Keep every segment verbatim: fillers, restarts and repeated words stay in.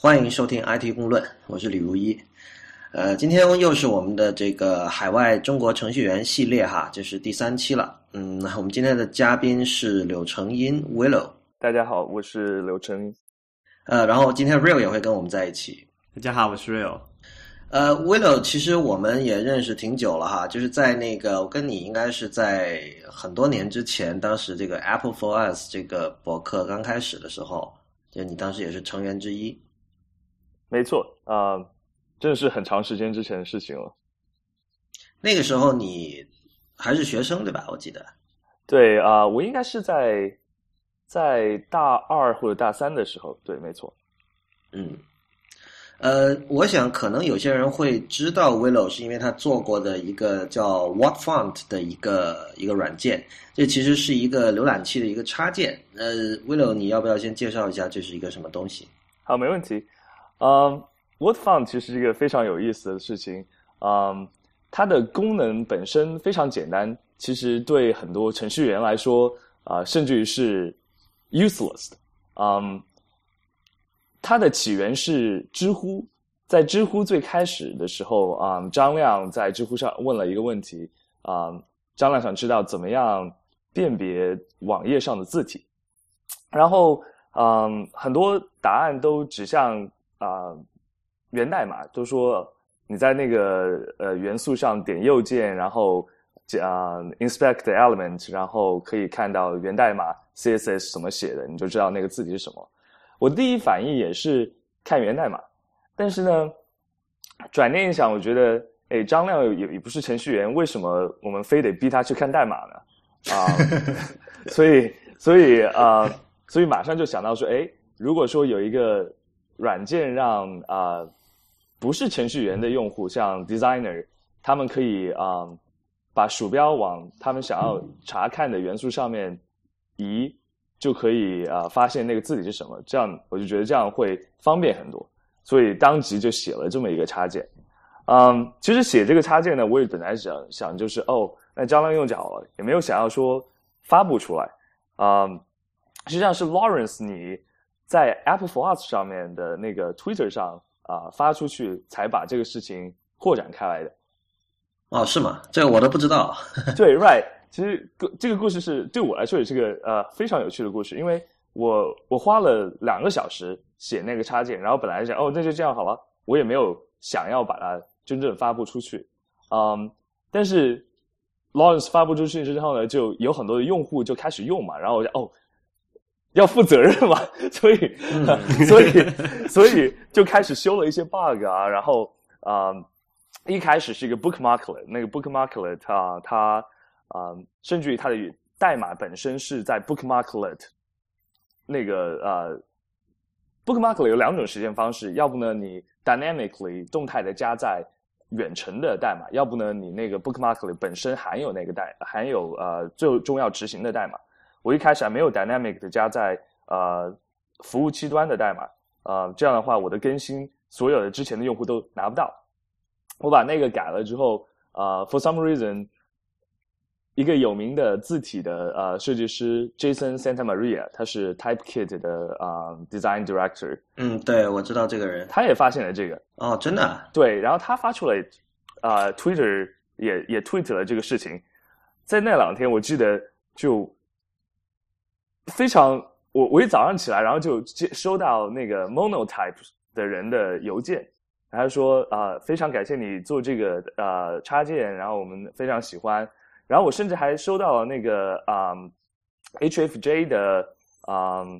欢迎收听 I T 公论，我是李如一。呃，今天又是我们的这个海外中国程序员系列哈，这是第三期了。嗯，我们今天的嘉宾是柳成荫 Willow。 大家好，我是柳成荫。 呃，然后今天 Real 也会跟我们在一起。 大家好，我是 Real。 呃 ，Willow 其实我们也认识挺久了哈，就是在那个我跟你应该是在很多年之前，当时这个 Apple for Us 这个博客刚开始的时候，就你当时也是成员之一。 没错，啊、呃，真的是很长时间之前的事情了。 那个时候你还是学生对吧？我记得。 对啊、呃，我应该是在在大二或者大三的时候，对，没错。 嗯，呃，我想可能有些人会知道 Willow 是因为他做过的一个叫 WhatFont 的一个一个软件，这其实是一个浏览器的一个插件。呃 ，Willow 你要不要先介绍一下这是一个什么东西？ 好，没问题。嗯、um, ，WhatFont 其实是一个非常有意思的事情。嗯、um, ，它的功能本身非常简单，其实对很多程序员来说，啊、呃，甚至于是 useless 的。嗯、um, 它的起源是知乎，在知乎最开始的时候，啊、嗯，张亮在知乎上问了一个问题，啊、嗯，张亮想知道怎么样辨别网页上的字体，然后，嗯，很多答案都指向啊、呃、源代码，都说你在那个呃元素上点右键，然后啊、呃、inspect the element， 然后可以看到源代码 C S S 怎么写的，你就知道那个字体是什么。我第一反应也是看源代码，但是呢，转念一想，我觉得，哎，张亮也也不是程序员，为什么我们非得逼他去看代码呢？啊、呃，所以，所以啊、呃，所以马上就想到说，哎，如果说有一个软件让啊、呃、不是程序员的用户，像 designer， 他们可以啊、呃、把鼠标往他们想要查看的元素上面移。就可以啊、呃、发现那个字体是什么，这样我就觉得这样会方便很多，所以当即就写了这么一个插件。嗯，其实写这个插件呢，我也本来想想就是哦，那张亮用就好了，也没有想要说发布出来。嗯，实际上是 Lawrence 你在 Apple for Us 上面的那个 Twitter 上啊、呃、发出去，才把这个事情扩展开来的。 哦，是吗？这个我都不知道。 对 ，right。其实这个故事是对我来说也是个呃非常有趣的故事，因为我我花了两个小时写那个插件，然后本来想哦那就这样好了，我也没有想要把它真正发布出去，嗯，但是 Lawrence 发布出去之后呢，就有很多的用户就开始用嘛，然后我就哦要负责任嘛，所以、嗯、所以所以就开始修了一些 bug 啊，然后啊、嗯、一开始是一个 bookmarklet， 那个 bookmarklet 它它啊、呃，甚至于它的代码本身是在 bookmarklet 那个呃 bookmarklet 有两种实现方式，要不呢你 dynamically 动态的加在远程的代码，要不呢你那个 bookmarklet 本身含有那个代含有呃最终要执行的代码。我一开始还没有 dynamic 的加在呃服务器端的代码，呃这样的话我的更新所有的之前的用户都拿不到。我把那个改了之后，呃 for some reason。一个有名的字体的呃设计师 Jason Santamaria， 他是 Typekit 的啊、呃、design director。 嗯，对，我知道这个人。 他也发现了这个。 哦，真的、啊？ 对，然后他发出了啊、呃、Twitter 也也 tweet 了这个事情。在那两天，我记得就非常，我我一早上起来，然后就接收到那个 Monotype 的人的邮件，然后说啊、呃、非常感谢你做这个呃插件，然后我们非常喜欢。然后我甚至还收到了那个啊、um, H F J 的啊、um,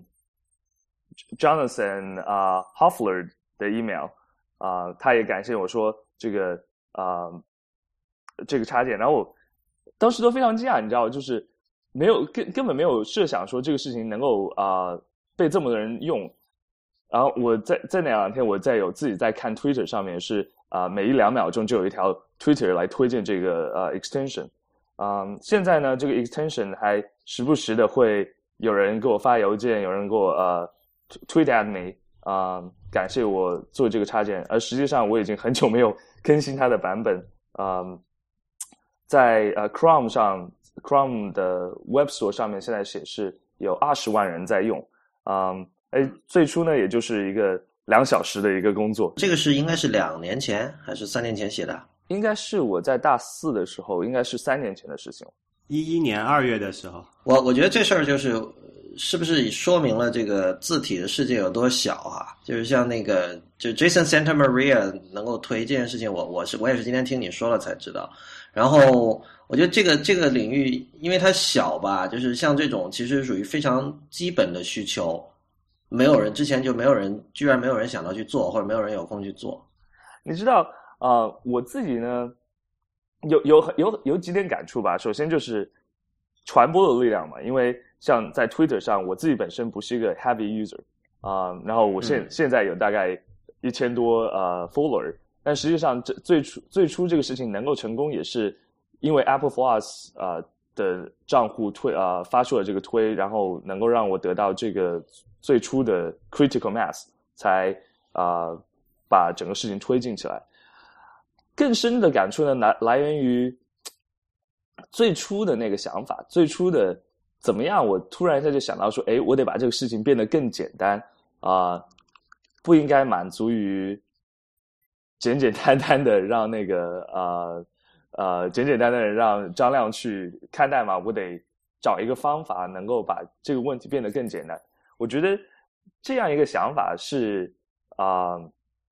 Jonathan 啊、uh, Hoffler 的 email 啊、uh, 他也感谢我说这个啊、uh, 这个插件，然后我当时都非常惊讶，你知道，就是没有根根本没有设想说这个事情能够啊、uh, 被这么多人用。然后我在在那两天我在有自己在看 Twitter 上面是啊、uh, 每一两秒钟就有一条 Twitter 来推荐这个呃、uh, extension。嗯，现在呢，这个 extension 还时不时的会有人给我发邮件，有人给我呃 tweet at me， 啊、呃，感谢我做这个插件。而实际上我已经很久没有更新它的版本。嗯、呃，在呃 Chrome 上 ，Chrome 的 Web Store 上面现在显示有二十万人在用。嗯，哎，最初呢，也就是一个两小时的一个工作。 这个是应该是两年前还是三年前写的？ 应该是我在大四的时候，应该是三年前的事情。 一一年二月的时候， 我我觉得这事儿就是是不是说明了这个字体的世界有多小啊？就是像那个就 Jason Santamaria 能够推这件事情，我我是我也是今天听你说了才知道。然后我觉得这个这个领域，因为它小吧，就是像这种其实属于非常基本的需求，没有人之前就没有人，居然没有人想到去做，或者没有人有空去做。 你知道，呃，我自己呢，有有有有几点感触吧。首先就是传播的力量嘛，因为像在 Twitter 上，我自己本身不是一个 heavy user 啊、呃，然后我现、嗯、现在有大概一千多呃 follower， 但实际上这最初最初这个事情能够成功，也是因为 Apple Plus 啊、呃、的账户推啊、呃、发出了这个推，然后能够让我得到这个最初的 critical mass， 才啊、呃、把整个事情推进起来。更深的感触呢，来来源于最初的那个想法，最初的怎么样，我突然一下就想到说，诶，我得把这个事情变得更简单啊、呃，不应该满足于简简单单的让那个呃呃简简单单的让张亮去看代码，我得找一个方法能够把这个问题变得更简单。我觉得这样一个想法是啊、呃，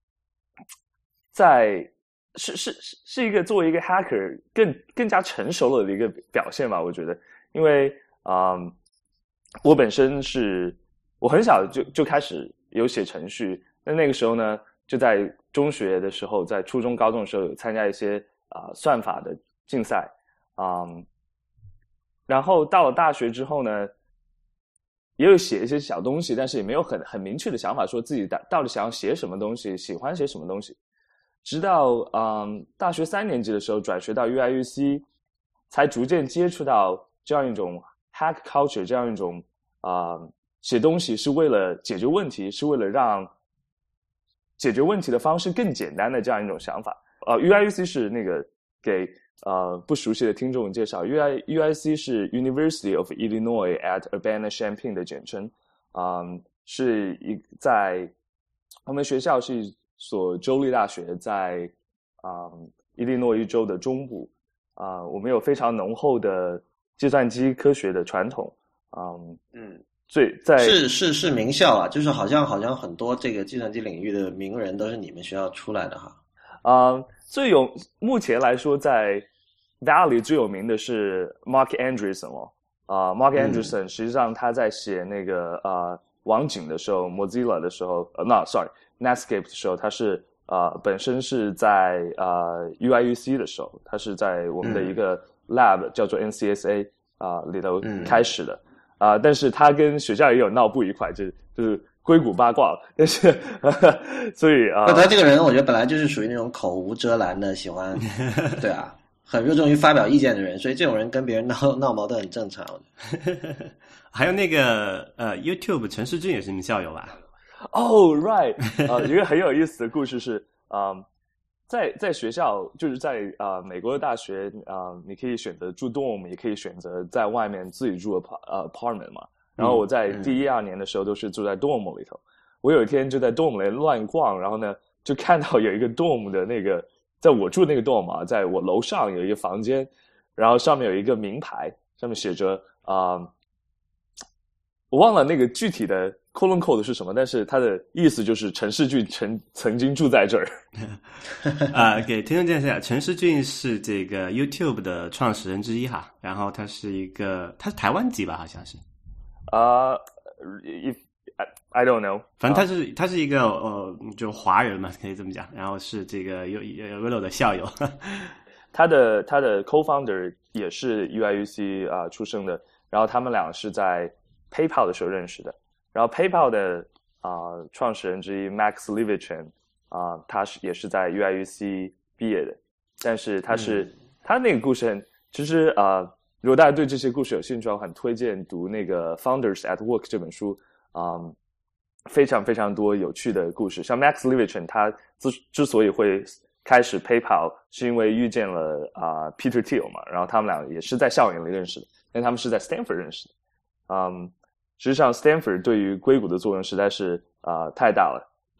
在是是是一个作为一个 hacker 更更加成熟了的一个表现吧，我觉得，因为啊、呃，我本身是我很小就就开始有写程序，那那个时候呢，就在中学的时候，在初中、高中的时候有参加一些啊、呃、算法的竞赛啊、呃，然后到了大学之后呢，也有写一些小东西，但是也没有很很明确的想法，说自己到底想要写什么东西，喜欢写什么东西。直到嗯大学三年级的时候转学到 U I U C， 才逐渐接触到这样一种 hack culture， 这样一种啊、呃、写东西是为了解决问题，是为了让解决问题的方式更简单的这样一种想法。呃 U I U C 是那个给呃不熟悉的听众介绍 ，U I U I C 是 University of Illinois at Urbana-Champaign 的简称，嗯，是一在我们学校是一所州立大学，在啊、嗯、伊利诺伊州的中部啊、呃，我们有非常浓厚的计算机科学的传统，嗯嗯，最在是是是名校啊，就是好像好像很多这个计算机领域的名人都是你们学校出来的哈。 啊、呃，最有目前来说在 Valley 最有名的是 Mark Andreessen 哦，啊、呃、，Mark Andreessen、嗯、实际上他在写那个呃网景的时候 ，Mozilla 的时候，呃，那 sorry。Netscape 的时候，他是呃本身是在呃 U I U C 的时候，他是在我们的一个 lab、嗯、叫做 N C S A 啊、呃、里头开始的啊、嗯呃，但是他跟学校也有闹不愉快，就就是硅谷八卦了。但是呵呵所以啊， 呃、他这个人我觉得本来就是属于那种口无遮拦的，喜欢对啊，很热衷于发表意见的人，所以这种人跟别人闹闹矛盾很正常。 还有那个呃 YouTube 陈世俊也是你们校友吧？ 哦、oh, ，right， 呃，一个很有意思的故事是，啊、呃，在在学校，就是在啊、呃、美国的大学啊、呃，你可以选择住 dorm， 也可以选择在外面自己住呃 apartment 嘛。然后我在第一二年的时候都是住在 dorm 里头。嗯、我有一天就在 dorm 里乱逛，然后呢就看到有一个 dorm 的那个，在我住那个 dorm 啊，在我楼上有一个房间，然后上面有一个名牌，上面写着啊、呃，我忘了那个具体的。colon code 是什么？但是它的意思就是陈世俊曾曾经住在这儿。 啊，给听众介绍一下，陈世俊是这个 YouTube 的创始人之一哈，然后他是一个，他是台湾籍吧，好像是。 啊、uh, ，I I don't know， 反正他是、uh, 他是一个呃，就华人嘛，可以这么讲。然后是这个 Willow 的校友。 他的他的 co-founder 也是 U I U C 啊、呃、出生的，然后他们俩是在 PayPal 的时候认识的。然后 PayPal 的啊、呃、创始人之一 Max Levchin 啊、呃，他是也是在 U I U C 毕业的，但是他是、嗯、他那个故事很，其实啊、呃，如果大家对这些故事有兴趣，我很推荐读那个 Founders at Work 这本书啊、呃，非常非常多有趣的故事。像 Max Levchin 他之之所以会开始 PayPal， 是因为遇见了啊、呃、Peter Thiel 嘛，然后他们俩也是在校园里认识的，但他们是在 Stanford 认识的，嗯。实际上 Stanford 对于硅谷的作用实在是啊、呃、太大了，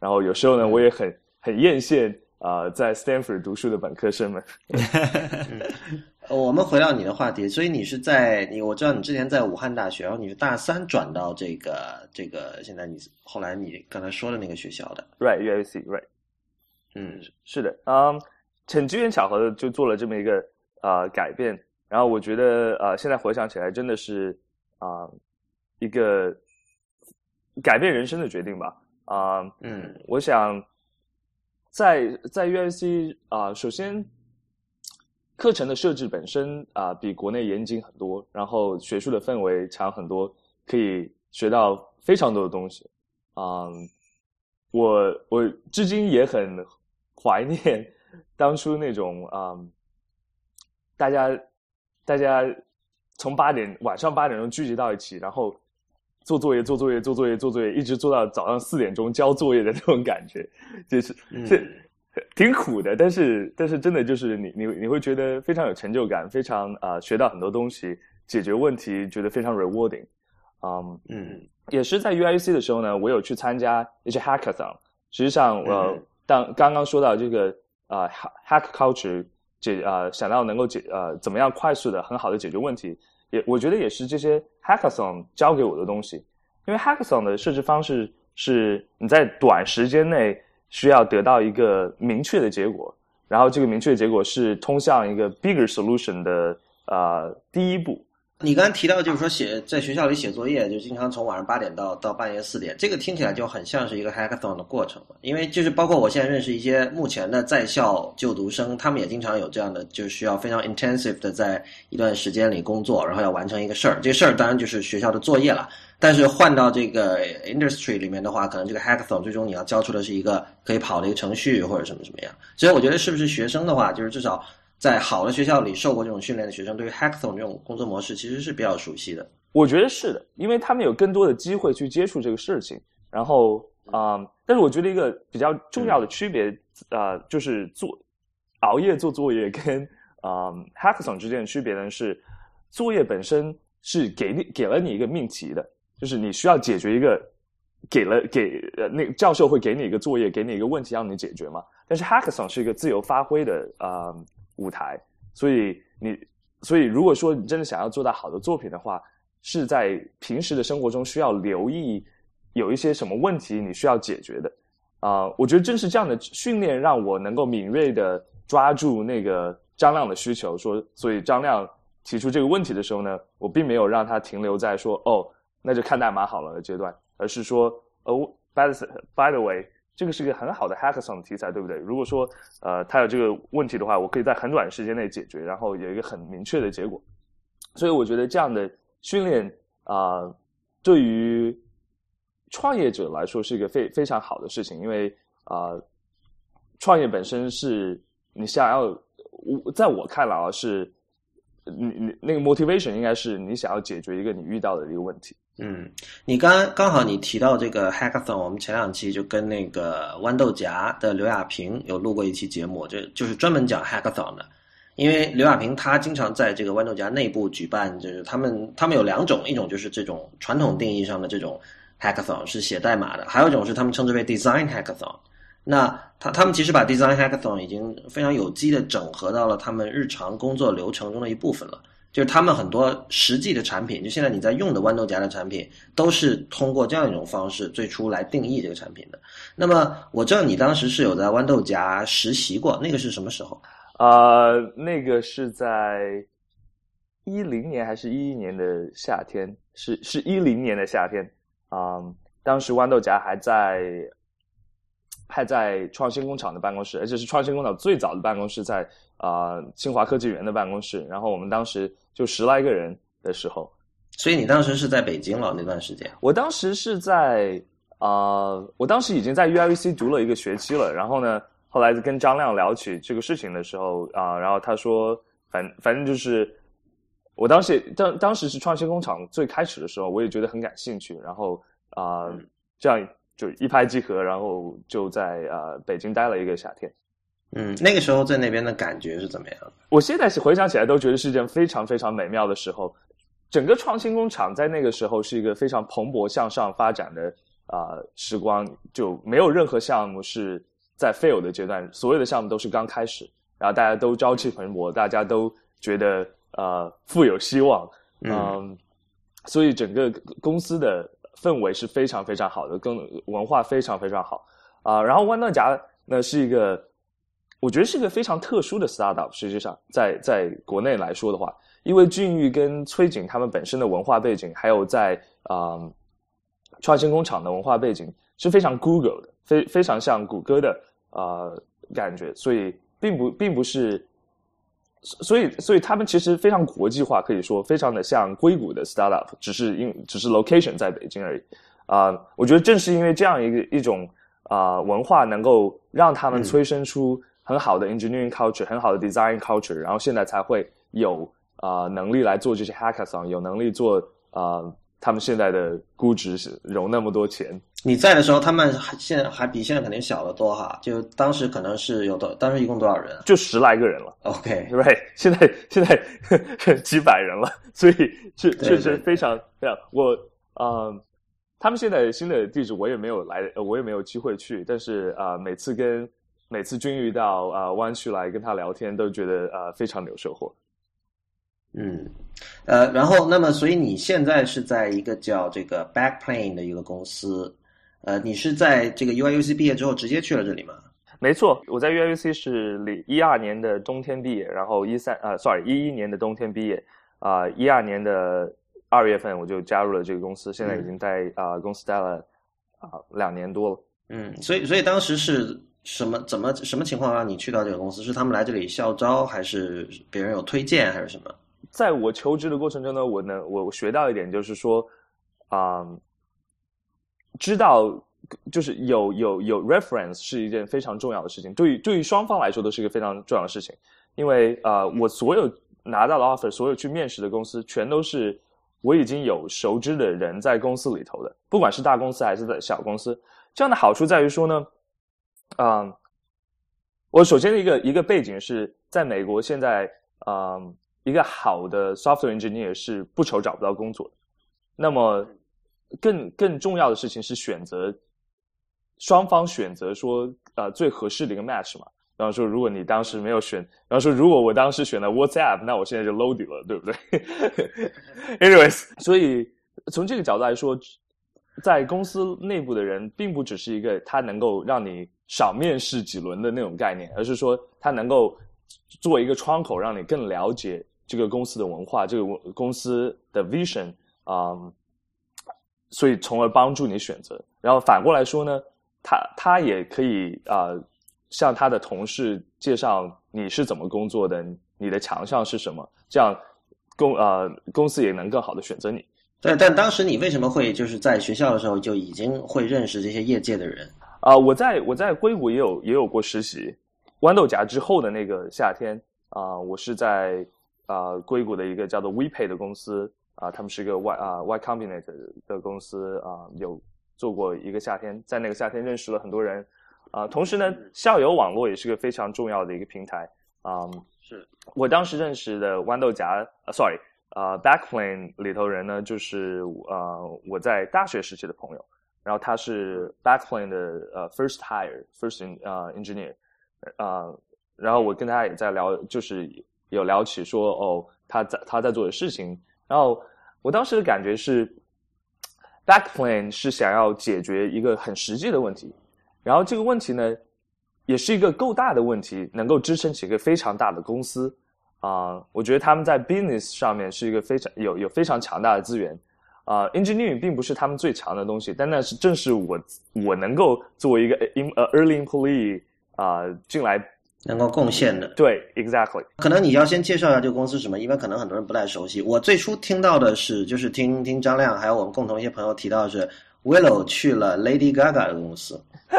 然后有时候呢，我也很很艳羡啊、呃，在 Stanford 读书的本科生们。 嗯我们回到你的话题，所以你是在你我知道你之前在武汉大学，然后你是大三转到这个这个现在你后来你刚才说的那个学校的 ，right U I C right， 嗯， 是的，嗯，很机缘巧合的就做了这么一个呃改变，然后我觉得呃现在回想起来真的是啊、呃、一个改变人生的决定吧，啊、呃、 嗯， 我想在在 U I C 啊、呃，首先。课程的设置本身啊、呃、比国内严谨很多，然后学术的氛围强很多，可以学到非常多的东西。嗯，我我至今也很怀念当初那种嗯，大家大家从八点晚上八点钟聚集到一起，然后做作业做作业做作业做作业，一直做到早上四点钟交作业的那种感觉，就是这。嗯挺苦的，但是但是真的就是你你你会觉得非常有成就感，非常啊、呃、学到很多东西，解决问题觉得非常 rewarding， 嗯嗯，也是在 U I C 的时候呢，我有去参加一些 hackathon， 实际上我、呃、当刚刚说到这个啊、呃、hack culture 解啊、呃、想到能够解呃怎么样快速的很好的解决问题，也我觉得也是这些 hackathon 教给我的东西，因为 hackathon 的设置方式是你在短时间内需要得到一个明确的结果，然后这个明确的结果是通向一个 bigger solution 的呃第一步。 你刚才提到就是说写在学校里写作业，就经常从晚上八点到到半夜四点，这个听起来就很像是一个 hackathon 的过程嘛。因为就是包括我现在认识一些目前的在校就读生，他们也经常有这样的，就是需要非常 intensive 的在一段时间里工作，然后要完成一个事儿。这个事儿当然就是学校的作业了。但是换到这个 industry 里面的话，可能这个 hackathon 最终你要交出的是一个可以跑的一个程序或者什么什么样。所以我觉得是不是学生的话，就是至少在好的学校里受过这种训练的学生，对于 hackathon 这种工作模式其实是比较熟悉的。 我觉得是的，因为他们有更多的机会去接触这个事情。然后啊、呃，但是我觉得一个比较重要的区别，呃，就是做熬夜做作业跟啊、呃、hackathon 之间的区别呢是，作业本身是给你给了你一个命题的。就是你需要解决一个，给了给呃那个教授会给你一个作业，给你一个问题让你解决嘛。但是 hackathon 是一个自由发挥的呃舞台，所以你所以如果说你真的想要做到好的作品的话，是在平时的生活中需要留意有一些什么问题你需要解决的啊、呃。我觉得正是这样的训练让我能够敏锐的抓住那个张亮的需求，说所以张亮提出这个问题的时候呢，我并没有让他停留在说哦。那就看代码好了的阶段，而是说，哦 ，by the by the way， 这个是个很好的 hackathon 的题材，对不对？如果说，呃，他有这个问题的话，我可以在很短时间内解决，然后有一个很明确的结果。所以我觉得这样的训练啊、呃，对于创业者来说是一个非非常好的事情，因为啊、呃，创业本身是你想要，在我看来啊，是你你那个 motivation 应该是你想要解决一个你遇到的一个问题。 嗯，你刚刚好你提到这个 hackathon， 我们前两期就跟那个豌豆荚的刘亚平有录过一期节目，就就是专门讲 hackathon 的。因为刘亚平他经常在这个豌豆荚内部举办，就是他们他们有两种，一种就是这种传统定义上的这种 hackathon 是写代码的，还有一种是他们称之为 design hackathon。那他他们其实把 design hackathon 已经非常有机的整合到了他们日常工作流程中的一部分了。就是他们很多实际的产品，就现在你在用的豌豆荚的产品，都是通过这样一种方式最初来定义这个产品的。那么我知道你当时是有在豌豆荚实习过，那个是什么时候？ 呃，那个是在一零年还是一一年的夏天？是是一零年的夏天啊、嗯。当时豌豆荚还在还在创新工厂的办公室，而且是创新工厂最早的办公室在啊、呃、清华科技园的办公室。然后我们当时就十来个人的时候， 所以你当时是在北京了那段时间？ 我当时是在啊、呃，我当时已经在 U I V C 读了一个学期了。然后呢，后来跟张亮聊起这个事情的时候啊、呃，然后他说，反反正就是我当时当当时是创新工厂最开始的时候，我也觉得很感兴趣。然后啊、呃嗯，这样就一拍即合，然后就在呃北京待了一个夏天。 嗯，那个时候在那边的感觉是怎么样的？ 我现在回想起来都觉得是一件非常非常美妙的时候。整个创新工厂在那个时候是一个非常蓬勃向上发展的啊、呃、时光，就没有任何项目是在 fail 的阶段，所有的项目都是刚开始，然后大家都朝气蓬勃，大家都觉得呃富有希望，嗯、呃，所以整个公司的氛围是非常非常好的，跟文化非常非常好啊、呃。然后豌豆荚呢是一个，我觉得是一个非常特殊的 startup， 实际上在在国内来说的话，因为俊玉跟崔景他们本身的文化背景，还有在啊、呃、创新工厂的文化背景是非常 Google 的，非非常像谷歌的啊、呃、感觉，所以并不并不是。所以，所以他们其实非常国际化，可以说非常的像硅谷的 startup， 只是因只是 location 在北京而已。啊、呃，我觉得正是因为这样一个一种啊、呃、文化，能够让他们催生出很好的 engineering culture，、嗯、很好的 design culture， 然后现在才会有啊、呃、能力来做这些 hackathon， 有能力做啊、呃、他们现在的估值融那么多钱。 你在的时候，他们现在还比现在肯定小得多哈。就当时可能是有多，当时一共多少人？ 就十来个人了。 OK， 对、right 现在现在呵呵几百人了，所以确确实非常非常。我呃，他们现在新的地址我也没有来，我也没有机会去。但是啊、呃，每次跟每次君遇到啊、呃、湾区来跟他聊天，都觉得啊、呃、非常有收获。 嗯，呃，然后那么，所以你现在是在一个叫这个 Backplane 的一个公司。呃，你是在这个 U I U C 毕业之后直接去了这里吗？ 没错，我在 U I U C 是一二年的冬天毕业，然后一三呃 ，sorry 一一年的冬天毕业，啊一二年的二月份我就加入了这个公司，现在已经在啊、呃、公司待了啊、呃、两年多了。 嗯，所以所以当时是什么怎么什么情况让你去到这个公司？是他们来这里校招，还是别人有推荐，还是什么？ 在我求职的过程中呢，我呢我学到一点就是说，啊、呃。知道就是有有有 reference 是一件非常重要的事情，对于对于双方来说都是一个非常重要的事情，因为呃我所有拿到的 offer， 所有去面试的公司全都是我已经有熟知的人在公司里头的，不管是大公司还是在小公司。这样的好处在于说呢，嗯、呃，我首先的一个一个背景是在美国，现在嗯、呃、一个好的 software engineer 是不愁找不到工作的，那么。更更重要的事情是选择，双方选择说呃最合适的一个 match 嘛。比方说，如果你当时没有选，比方说如果我当时选了 WhatsApp， 那我现在就 loaded 了，对不对？Anyways， 所以从这个角度来说，在公司内部的人并不只是一个他能够让你少面试几轮的那种概念，而是说他能够做一个窗口，让你更了解这个公司的文化，这个公司的 vision 啊、嗯。所以从而帮助你选择，然后反过来说呢，他他也可以啊、呃，向他的同事介绍你是怎么工作的，你的强项是什么，这样公呃公司也能更好的选择你。 对，但当时你为什么会就是在学校的时候就已经会认识这些业界的人啊、呃？我在我在硅谷也有也有过实习，豌豆荚之后的那个夏天啊、呃，我是在啊、呃、硅谷的一个叫做 WePay 的公司。啊，他们是一个 Y 啊 Y Combinator 的公司啊，有做过一个夏天，在那个夏天认识了很多人啊。同时呢，校友网络也是个非常重要的一个平台啊。 是我当时认识的豌豆荚啊 ，sorry 啊 ，Backplane 里头人呢，就是啊我在大学时期的朋友，然后他是 Backplane 的呃 first hire first in 啊、uh, engineer 啊，然后我跟他也在聊，就是有聊起说哦，他在他在做的事情。然后我当时的感觉是 Backplane 是想要解决一个很实际的问题，然后这个问题呢也是一个够大的问题，能够支撑起一个非常大的公司啊、呃。我觉得他们在 business 上面是一个非常有有非常强大的资源啊、呃。engineering 并不是他们最强的东西，但那是正是我我能够作为一个 early employee 啊、呃、进来。 能够贡献的。 对 exactly。 可能你要先介绍一下这个公司是什么，因为可能很多人不太熟悉。我最初听到的是就是听听张亮还有我们共同一些朋友提到的是 Willow 去了 Lady Gaga 的公司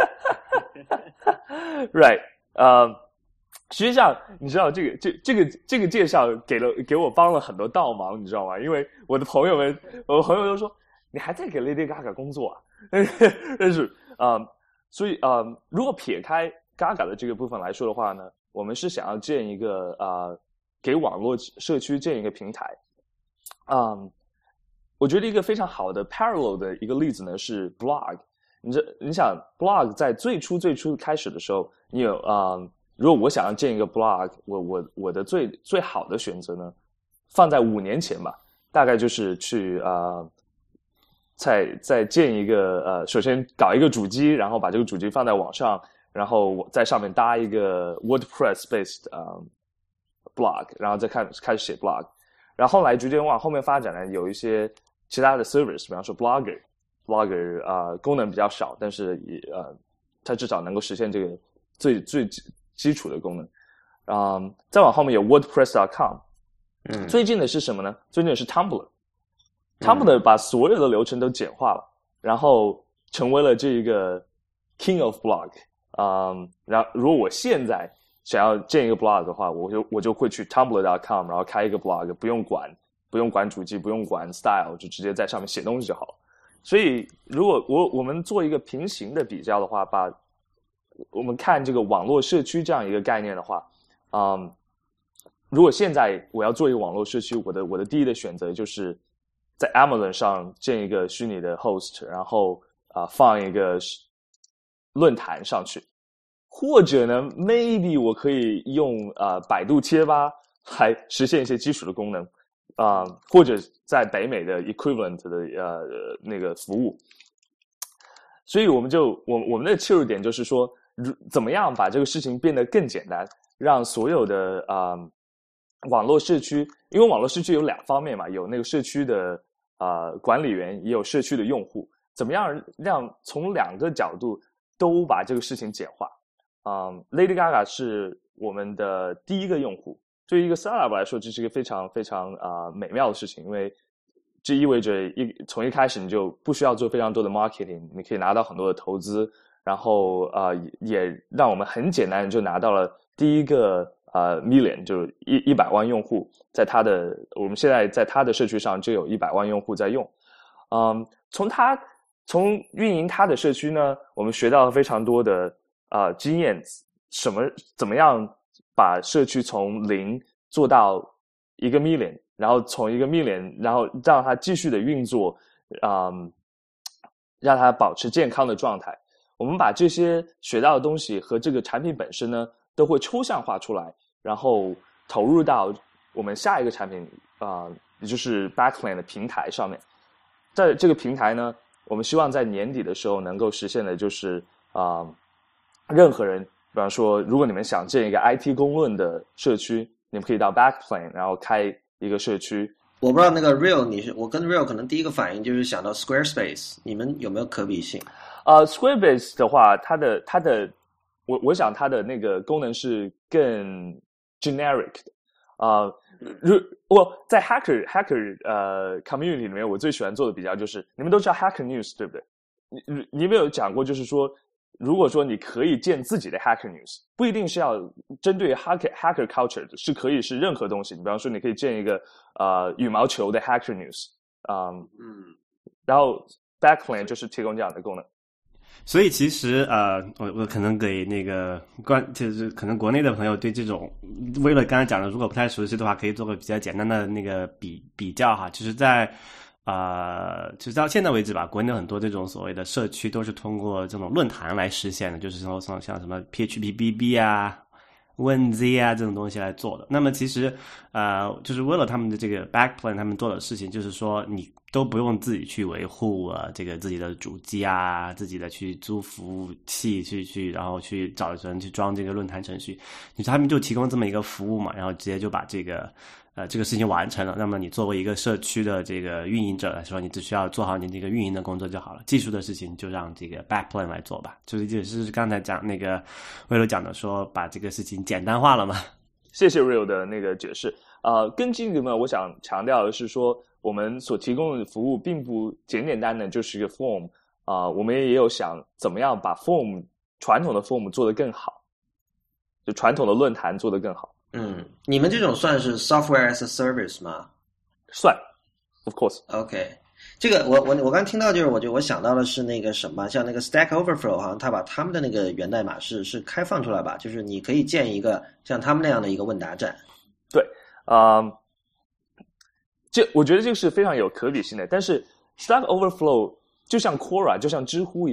right 呃、uh, 实际上你知道这个这这个这个介绍给了给我帮了很多倒忙，你知道吗？因为我的朋友们我的朋友都说你还在给 Lady Gaga 工作啊但是啊、uh, 所以啊、uh, 如果撇开Gaga 的这个部分来说的话呢，我们是想要建一个呃，给网络社区建一个平台。嗯，我觉得一个非常好的 parallel 的一个例子呢是 blog。 你这你想 blog 在最初最初开始的时候，你有啊、呃，如果我想要建一个 blog， 我我我的最最好的选择呢，放在五年前吧，大概就是去啊。呃再再建一个呃，首先搞一个主机，然后把这个主机放在网上，然后在上面搭一个 WordPress based 呃 blog， 然后再开开始写 blog， 然后后来逐渐往后面发展呢，有一些其他的 service， 比方说 blogger blogger 啊、呃、功能比较少，但是也呃它至少能够实现这个最最基础的功能。啊、呃，再往后面有 WordPress dot com， 嗯， 最近的是什么呢？最近的是 Tumblr。Tumblr 把所有的流程都简化了，然后成为了这一个 King of Blog。嗯，然后如果我现在想要建一个 blog 的话，我就我就会去 Tumblr dot com， 然后开一个 blog， 不用管不用管主机，不用管 style， 就直接在上面写东西就好了。所以，如果我我们做一个平行的比较的话，把我们看这个网络社区这样一个概念的话，嗯，如果现在我要做一个网络社区，我的我的第一的选择就是在 Amazon 上建一个虚拟的 host， 然后啊、呃、放一个论坛上去，或者呢 maybe 我可以用啊、呃、百度贴吧来实现一些基础的功能啊、呃，或者在北美的 equivalent 的呃那个服务。所以我们就我我们的切入点就是说，怎么样把这个事情变得更简单，让所有的啊、呃、网络社区，因为网络社区有两方面嘛，有那个社区的啊、呃、管理员，也有社区的用户，怎么样让从两个角度都把这个事情简化。啊、嗯、Lady Gaga 是我们的第一个用户，对于一个 startup 来说，这是一个非常非常啊、呃、美妙的事情，因为这意味着一从一开始你就不需要做非常多的 marketing， 你可以拿到很多的投资，然后啊、呃、也让我们很简单就拿到了第一个呃 million， 就是一一百万用户，在他的我们现在在他的社区上就有一百万用户在用。嗯，从他从运营他的社区呢，我们学到了非常多的啊、呃、经验，什么怎么样把社区从零做到一个 million， 然后从一个 million， 然后让它继续的运作，嗯，让它保持健康的状态。我们把这些学到的东西和这个产品本身呢，都会抽象化出来，然后投入到我们下一个产品啊、呃，也就是 Backplane 的平台上面。在这个平台呢，我们希望在年底的时候能够实现的就是啊、呃，任何人，比方说，如果你们想建一个 I T 公论的社区，你们可以到 Backplane， 然后开一个社区。 我不知道那个 Real， 你是我跟 Real 可能第一个反应就是想到 Squarespace， 你们有没有可比性？ 呃 ，Squarespace 的话，它的它的，我我想它的那个功能是更 generic 的。啊、呃，如我在 hacker hacker 呃 community 里面，我最喜欢做的比较就是，你们都知道 Hacker News 对不对？你你有没有讲过，就是说，如果说你可以建自己的 Hacker News， 不一定是要针对 hacker hacker culture 的，是可以是任何东西。你比方说，你可以建一个呃羽毛球的 Hacker News， 嗯嗯，然后 Backplane 就是提供这样的功能。 所以其实呃，我我可能给那个关，就是可能国内的朋友对这种，为了刚才讲的，如果不太熟悉的话，可以做个比较简单的那个比比较哈。就是在呃，就是到现在为止吧，国内很多这种所谓的社区都是通过这种论坛来实现的，就是说像像什么 P H P B B 啊、Win Z 啊这种东西来做的。那么其实呃，就是为了他们的这个 Backplane， 他们做的事情就是说你都不用自己去维护啊，这个自己的主机啊，自己的去租服务器去去，然后去找人去装这个论坛程序，他们就提供这么一个服务嘛，然后直接就把这个呃这个事情完成了。那么你作为一个社区的这个运营者来说，你只需要做好你这个运营的工作就好了，技术的事情就让这个 Backplane 来做吧。就是就是刚才讲那个魏柔讲的说，把这个事情简单化了嘛。 谢谢 Real 的那个解释。呃，跟这个呢，我想强调的是说，我们所提供的服务并不简简单的就是一个 form 啊、呃，我们也有想怎么样把 form 传统的 form 做得更好，就传统的论坛做得更好。 嗯，你们这种算是 software as a service 吗？ 算 ，of course。OK， 这个我我我刚听到就是，我就我想到的是那个什么，像那个 Stack Overflow， 好像他把他们的那个源代码是是开放出来吧，就是你可以建一个像他们那样的一个问答站。 对，啊、呃，这我觉得这个是非常有可比性的。但是 Stack Overflow 就像 Quora 就像知乎一样，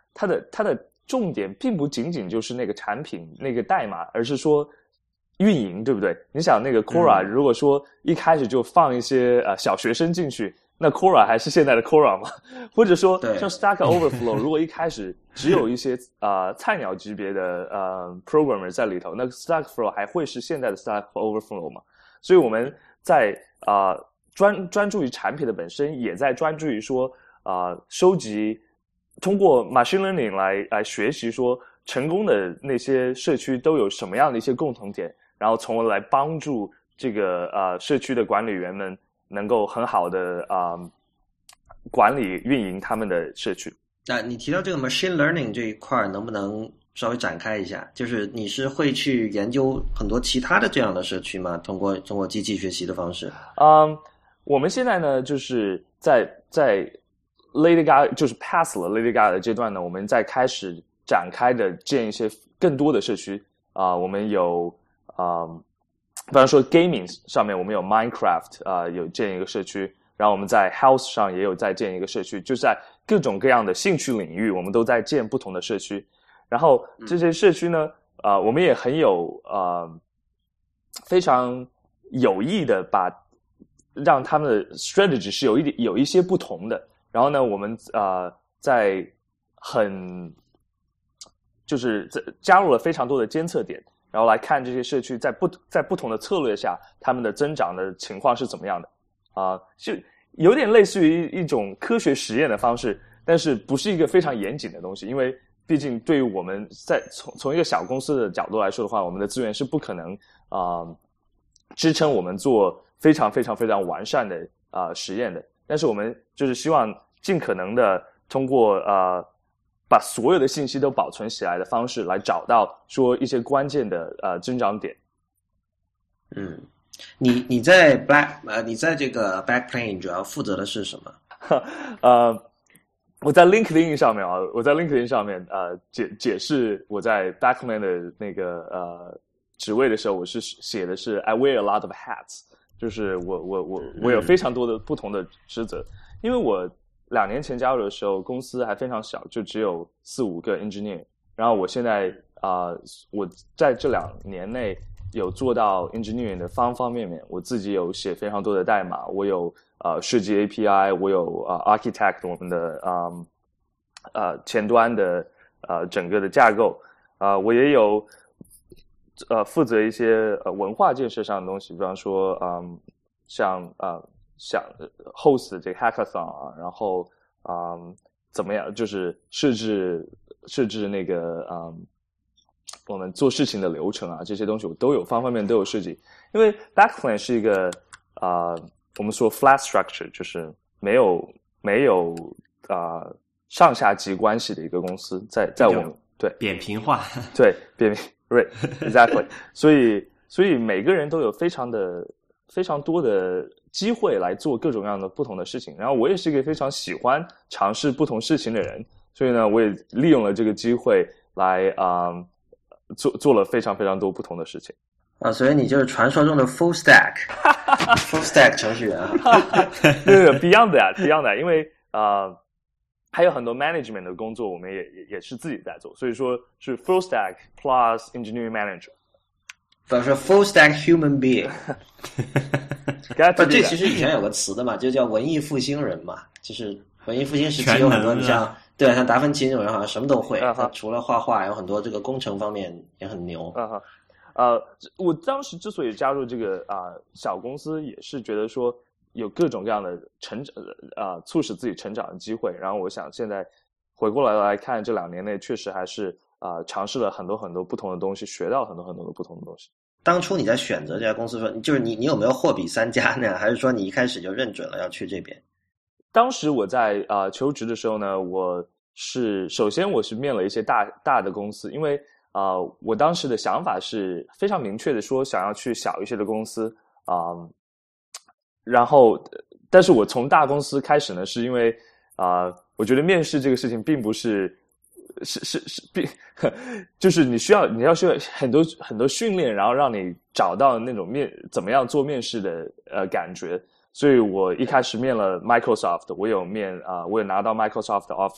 它的它的重点并不仅仅就是那个产品那个代码，而是说运营，对不对？你想那个 Quora，、嗯、如果说一开始就放一些呃小学生进去，那 Quora 还是现在的 Quora 吗？或者说像 Stack Overflow， 如果一开始只有一些呃菜鸟级别的呃 programmer 在里头，那 Stack Overflow 还会是现在的 Stack Overflow 吗？所以我们在啊、呃、专专注于产品的本身，也在专注于说啊、呃、收集。通过 machine learning 来来学习说成功的那些社区都有什么样的一些共同点，然后从而来帮助这个呃社区的管理员们能够很好的啊、呃、管理运营他们的社区。 那你提到这个 machine learning 这一块，能不能稍微展开一下？就是你是会去研究很多其他的这样的社区吗？通过通过机器学习的方式？ 嗯，我们现在呢就是在在。Lady Gaga 就是 pass 了 Lady Gaga 的阶段呢，我们在开始展开的建一些更多的社区啊、呃，我们有啊、呃，比方说 gaming 上面我们有 Minecraft 啊、呃，有建一个社区，然后我们在 House 上也有在建一个社区，就是在各种各样的兴趣领域，我们都在建不同的社区。然后这些社区呢，啊、呃，我们也很有呃非常有意的把让他们的 strategy 是有一点有一些不同的。然后呢，我们呃在很就是加入了非常多的监测点，然后来看这些社区在不在不同的策略下，他们的增长的情况是怎么样的啊、呃？就有点类似于一种科学实验的方式，但是不是一个非常严谨的东西，因为毕竟对于我们在从从一个小公司的角度来说的话，我们的资源是不可能啊、呃、支撑我们做非常非常非常完善的啊、呃、实验的。但是我们就是希望尽可能的通过呃把所有的信息都保存起来的方式来找到说一些关键的呃增长点。 嗯，你你在 Black 呃你在这个 Backplane 主要负责的是什么？ 呃，我在 LinkedIn 上面啊，我在 LinkedIn 上面呃解解释我在 Backplane 的那个呃职位的时候，我是写的是 I wear a lot of hats。就是我我我我有非常多的不同的职责，因为我两年前加入的时候，公司还非常小，就只有四五个 engineer。然后我现在啊、呃，我在这两年内有做到 engineering 的方方面面。我自己有写非常多的代码，我有呃设计 A P I， 我有呃 architect 我们的嗯呃前端的呃整个的架构啊、呃，我也有。呃，负责一些呃文化建设上的东西，比方说，嗯，像呃，像 host 这个 hackathon 啊，然后嗯，怎么样，就是设置设置那个嗯，我们做事情的流程啊，这些东西我都有方方面面都有设计。因为 Backplane 是一个啊、呃，我们说 flat structure， 就是没有没有啊、呃、上下级关系的一个公司，在在我们对扁平化， 对扁平。Right, exactly. 所以，所以每个人都有非常的、非常多的机会来做各种各样的不同的事情。然后，我也是一个非常喜欢尝试不同事情的人，所以呢，我也利用了这个机会来啊、呃、做做了非常非常多不同的事情。 啊，所以你就是传说中的 full stack，full stack 程序员啊。 对对 ，Beyond that, Beyond that， 因为啊。呃还有很多 management 的工作，我们也也也是自己在做，所以说是 full stack plus engineering manager。 比方说 full stack human being。不，这其实以前有个词的嘛，就叫文艺复兴人嘛，就是文艺复兴时期有很多，你像对，像达芬奇那种人好像什么都会，他、uh-huh. 除了画画，有很多这个工程方面也很牛。 嗯哼，呃，我当时之所以加入这个啊、呃、小公司，也是觉得说。有各种各样的成长，呃，促使自己成长的机会。然后我想现在回过来来看，这两年内确实还是啊、呃、尝试了很多很多不同的东西，学到很多很多的不同的东西。 当初你在选择这家公司的时候，就是你你有没有货比三家呢？还是说你一开始就认准了要去这边？ 当时我在啊、呃、求职的时候呢，我是首先我是面了一些大大的公司，因为啊、呃、我当时的想法是非常明确的，说想要去小一些的公司啊。呃然后，但是我从大公司开始呢，是因为啊、呃，我觉得面试这个事情并不是，是是是，并就是你需要你要需要很多很多训练，然后让你找到那种面怎么样做面试的呃感觉。所以我一开始面了 Microsoft， 我有面啊、呃，我有拿到 Microsoft 的 offer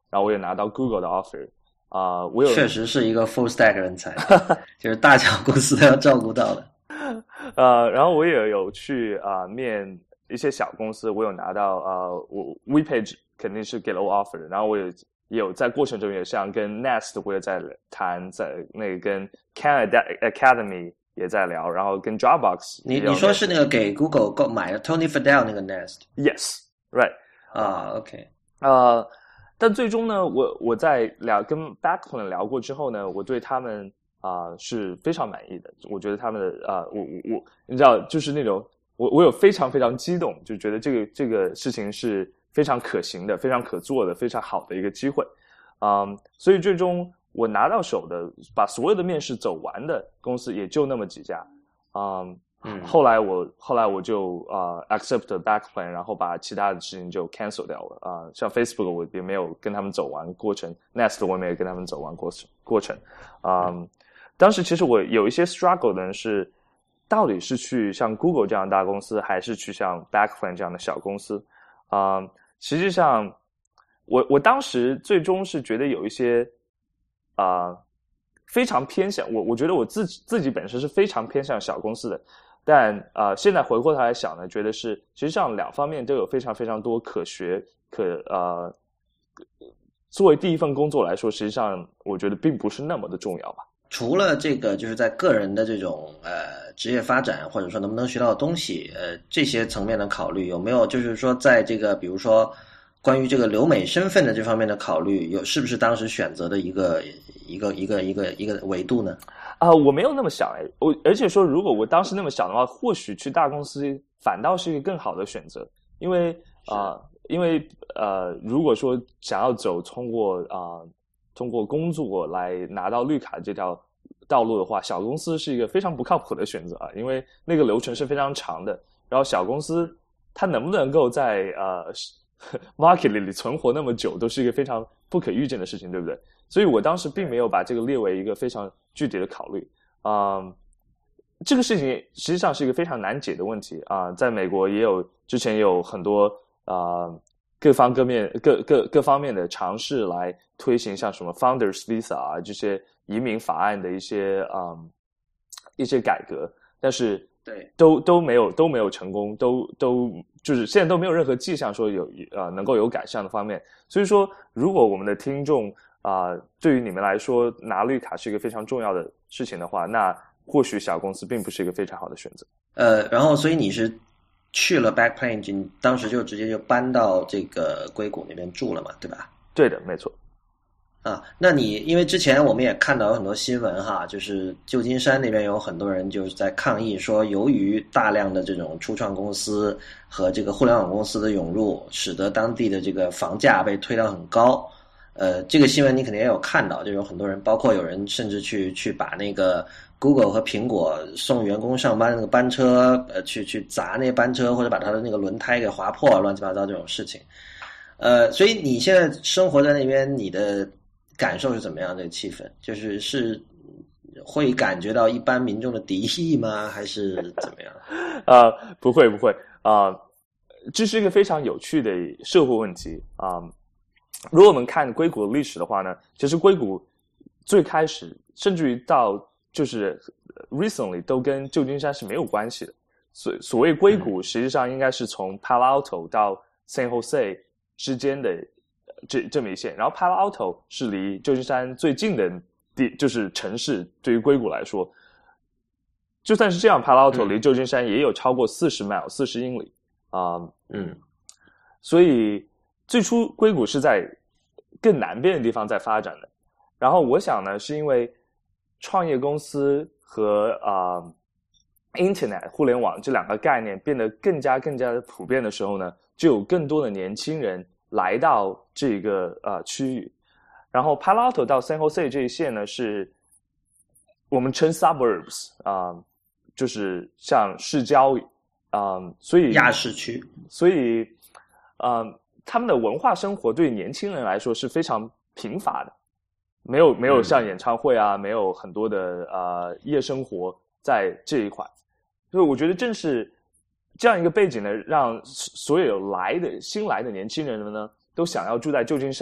然后我也拿到 Google 的 offer 啊、呃，我有确实是一个 full stack 人才，就是大小公司都要照顾到的。 呃，然后我也有去啊、呃、面一些小公司，我有拿到呃我 WePage 肯定是给了我 offer 的，然后我也也有在过程中也像跟 Nest 我也在谈，在那个跟 Canada Academy 也在聊，然后跟 Dropbox 你你说是那个给 Google 购买的 Tony Fadell 那个 Nest？ Yes, right 啊 ，OK， 呃，但最终呢，我我在聊跟 Backplane 聊过之后呢，我对他们啊、呃、是非常满意的。我觉得他们的啊、呃，我我我，你知道，就是那种我我有非常非常激动，就觉得这个这个事情是非常可行的、非常可做的、非常好的一个机会。嗯，所以最终我拿到手的，把所有的面试走完的公司也就那么几家。嗯。 嗯， 后来我后来我就呃 accept backplane， 然后把其他的事情就 cancel 掉了啊、呃。像 Facebook 我也没有跟他们走完过程 ，Nest 我也没有跟他们走完过程过程。啊、嗯，当时其实我有一些 struggle 的是，到底是去像 Google 这样的大公司，还是去像 backplane 这样的小公司？啊、呃，实际上我我当时最终是觉得有一些啊、呃、非常偏向我，我觉得我自己自己本身是非常偏向小公司的。但呃，现在回过头来想呢，觉得是实际上两方面都有非常非常多可学可呃，作为第一份工作来说，实际上我觉得并不是那么的重要吧。 除了这个，就是在个人的这种呃职业发展，或者说能不能学到东西，呃这些层面的考虑，有没有就是说在这个比如说关于这个留美身份的这方面的考虑，有是不是当时选择的一个一个一个一个一个维度呢？ 啊、呃，我没有那么想哎，我而且说，如果我当时那么想的话，或许去大公司反倒是一个更好的选择，因为啊、呃，因为呃，如果说想要走通过啊、呃、通过工作来拿到绿卡这条道路的话，小公司是一个非常不靠谱的选择啊，因为那个流程是非常长的，然后小公司它能不能够在呃 market 里存活那么久，都是一个非常不可预见的事情，对不对？所以我当时并没有把这个列为一个非常具体的考虑。啊、呃，这个事情实际上是一个非常难解的问题啊、呃。在美国也有之前也有很多啊、呃、各方各面各各各方面的尝试来推行像什么 Founders Visa 啊这些移民法案的一些啊、呃、一些改革，但是对都都没有都没有成功，都都就是现在都没有任何迹象说有呃能够有改善的方面。所以说，如果我们的听众啊、呃，对于你们来说拿绿卡是一个非常重要的事情的话，那或许小公司并不是一个非常好的选择。 呃，然后所以你是去了 Backplane， 你当时就直接就搬到这个硅谷那边住了嘛，对吧？ 对的，没错。 啊，那你因为之前我们也看到有很多新闻哈，就是旧金山那边有很多人就是在抗议说，由于大量的这种初创公司和这个互联网公司的涌入，使得当地的这个房价被推到很高。呃，这个新闻你肯定也有看到，就有很多人，包括有人甚至去去把那个 Google 和苹果送员工上班那个班车，呃，去去砸那班车，或者把它的那个轮胎给划破，乱七八糟这种事情。呃，所以你现在生活在那边，你的感受是怎么样？这个气氛就是是会感觉到一般民众的敌意吗？还是怎么样？ 啊、呃，不会不会啊、呃，这是一个非常有趣的社会问题啊。呃如果我们看硅谷的历史的话呢，其实硅谷最开始甚至于到就是 recently 都跟旧金山是没有关系的。所所谓硅谷，实际上应该是从 Palo Alto 到 San Jose 之间的这这么一线，然后 Palo Alto 是离旧金山最近的地，就是城市。对于硅谷来说，就算是这样 ，Palo Alto 离旧金山也有超过四十 mile 四十英里啊、呃。 嗯， 所以。最初硅谷是在更南边的地方在发展的，然后我想呢，是因为创业公司和啊、呃、Internet 互联网这两个概念变得更加更加的普遍的时候呢，就有更多的年轻人来到这个呃区域。然后 Palo Alto 到 San Jose 这一线呢，是我们称 suburbs 啊、呃，就是像市郊啊、呃，所以亚市区， 所以啊。呃他们的文化生活对年轻人来说是非常贫乏的，没有没有像演唱会啊，嗯、没有很多的呃夜生活在这一块，所以我觉得正是这样一个背景呢，让所有来的新来的年轻人们呢，都想要住在旧金山，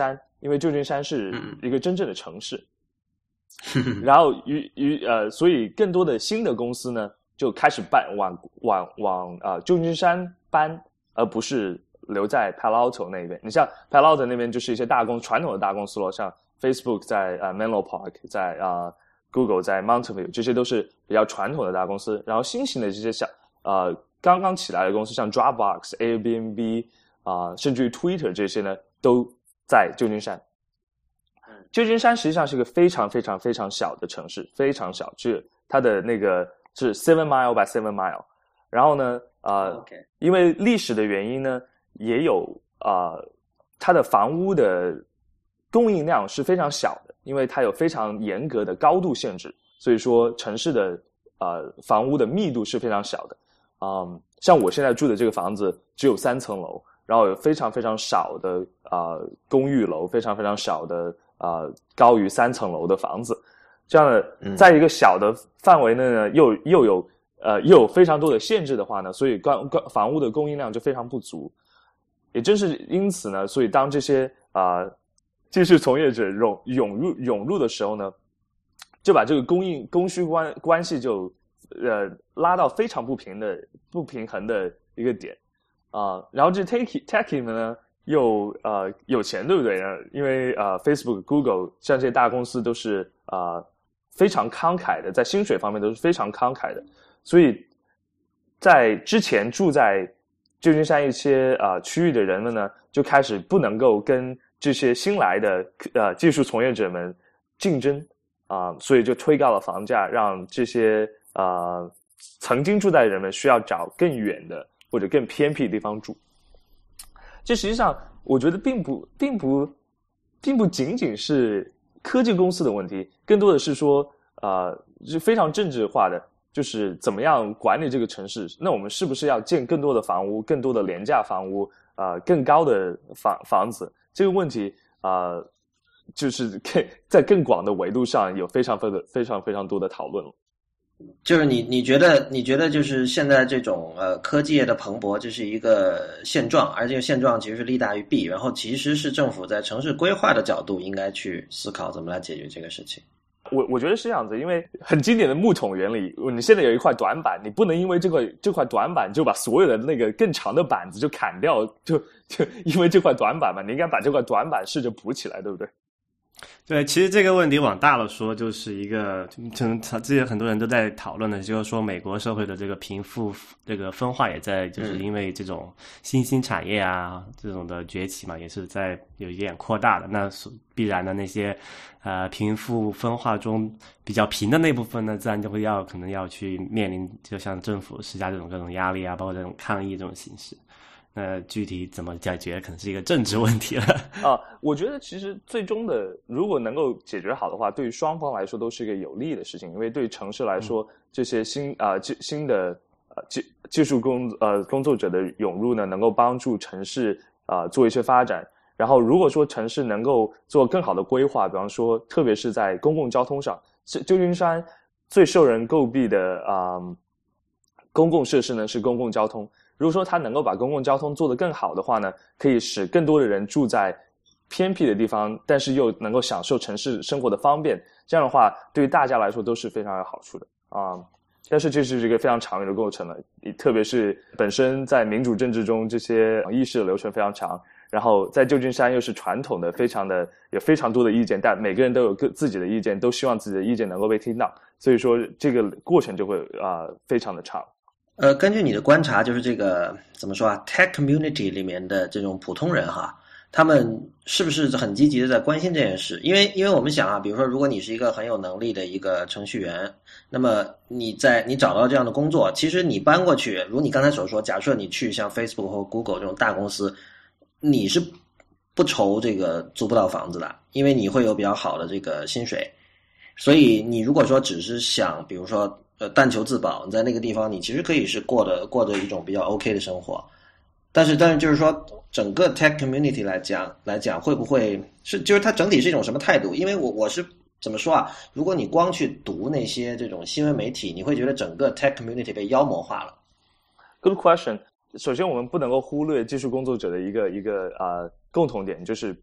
因为旧金山是一个真正的城市。然后于于呃，所以更多的新的公司呢，就开始搬往往往啊、呃、旧金山搬，而不是留在 Palo Alto 那边。你像 Palo Alto 那边就是一些大公传统的大公司咯，像 Facebook 在呃 Menlo Park， 在啊、呃、Google 在 Mountain View， 这些都是比较传统的大公司。然后新型的这些小呃刚刚起来的公司，像 Dropbox、Airbnb 啊、呃，甚至于 Twitter 这些呢，都在旧金山。旧金山实际上是一个非常非常非常小的城市，非常小，是它的那个是 seven mile by seven mile。然后呢，呃， okay. 因为历史的原因呢，也有呃，它的房屋的供应量是非常小的，因为它有非常严格的高度限制，所以说城市的呃房屋的密度是非常小的。嗯，像我现在住的这个房子只有三层楼，然后有非常非常少的呃公寓楼，非常非常少的。呃，高于三层楼的房子，这样的，在一个小的范围内呢，又又有呃又有非常多的限制的话呢，所以关关房屋的供应量就非常不足。也正是因此呢，所以当这些啊、呃、技术从业者涌涌入涌入的时候呢，就把这个供应供需关关系就呃拉到非常不平的不平衡的一个点啊、呃，然后这 techie techie 们呢。又呃有钱对不对呢？因为呃 Facebook、Google 像这些大公司都是呃非常慷慨的，在薪水方面都是非常慷慨的，所以在之前住在旧金山一些呃区域的人们呢，就开始不能够跟这些新来的呃技术从业者们竞争啊、呃，所以就推高了房价，让这些呃曾经住在的人们需要找更远的或者更偏僻的地方住。这实际上，我觉得并不，并不，并不仅仅是科技公司的问题，更多的是说，呃，是非常政治化的，就是怎么样管理这个城市。那我们是不是要建更多的房屋，更多的廉价房屋，呃，更高的房房子？这个问题，呃，就是更在更广的维度上有非常非常非常非常多的讨论了。 就是你你觉得你觉得就是现在这种呃科技业的蓬勃，这是一个现状，而这个现状其实是利大于弊，然后其实是政府在城市规划的角度应该去思考怎么来解决这个事情。 我我觉得是这样子，因为很经典的木桶原理，你现在有一块短板，你不能因为这个这块短板就把所有的那个更长的板子就砍掉，就就因为这块短板嘛，你应该把这块短板试着补起来，对不对？ 对，其实这个问题往大了说，就是一个，可能之前很多人都在讨论的，就是说美国社会的这个贫富这个分化也在，就是因为这种新兴产业啊这种的崛起嘛，也是在有一点扩大的。那必然的那些呃贫富分化中比较贫的那部分呢，自然就会要可能要去面临，就像政府施加这种各种压力啊，包括这种抗议这种形式。那具体怎么解决，可能是一个政治问题了。 啊，我觉得其实最终的，如果能够解决好的话，对于双方来说都是一个有利的事情。因为对于城市来说，嗯、这些新啊、呃、新的呃技技术工呃工作者的涌入呢，能够帮助城市啊、呃、做一些发展。然后，如果说城市能够做更好的规划，比方说，特别是在公共交通上，旧金山最受人诟病的啊、呃、公共设施呢是公共交通。如果说它能够把公共交通做得更好的话呢，可以使更多的人住在偏僻的地方，但是又能够享受城市生活的方便。这样的话，对于大家来说都是非常有好处的啊。但是这是一个非常长远的过程了，特别是本身在民主政治中，这些议事的流程非常长。然后在旧金山又是传统的，非常的有非常多的意见，但每个人都有各自己的意见，都希望自己的意见能够被听到。所以说，这个过程就会啊、呃、非常的长。 呃，根据你的观察，就是这个怎么说啊 ，tech community 里面的这种普通人哈，他们是不是很积极的在关心这件事？因为因为我们想啊，比如说，如果你是一个很有能力的一个程序员，那么你在你找到这样的工作，其实你搬过去，如你刚才所说，假设你去像 Facebook 或 Google 这种大公司，你是不愁这个租不到房子的，因为你会有比较好的这个薪水。所以你如果说只是想，比如说。呃，但求自保，你在那个地方，你其实可以是过的过着一种比较 OK 的生活，但是但是就是说，整个 tech community 来讲来讲，会不会是就是它整体是一种什么态度？因为我我是怎么说啊？如果你光去读那些这种新闻媒体，你会觉得整个 tech community 被妖魔化了。 Good question。首先，我们不能够忽略技术工作者的一个一个呃共同点，就是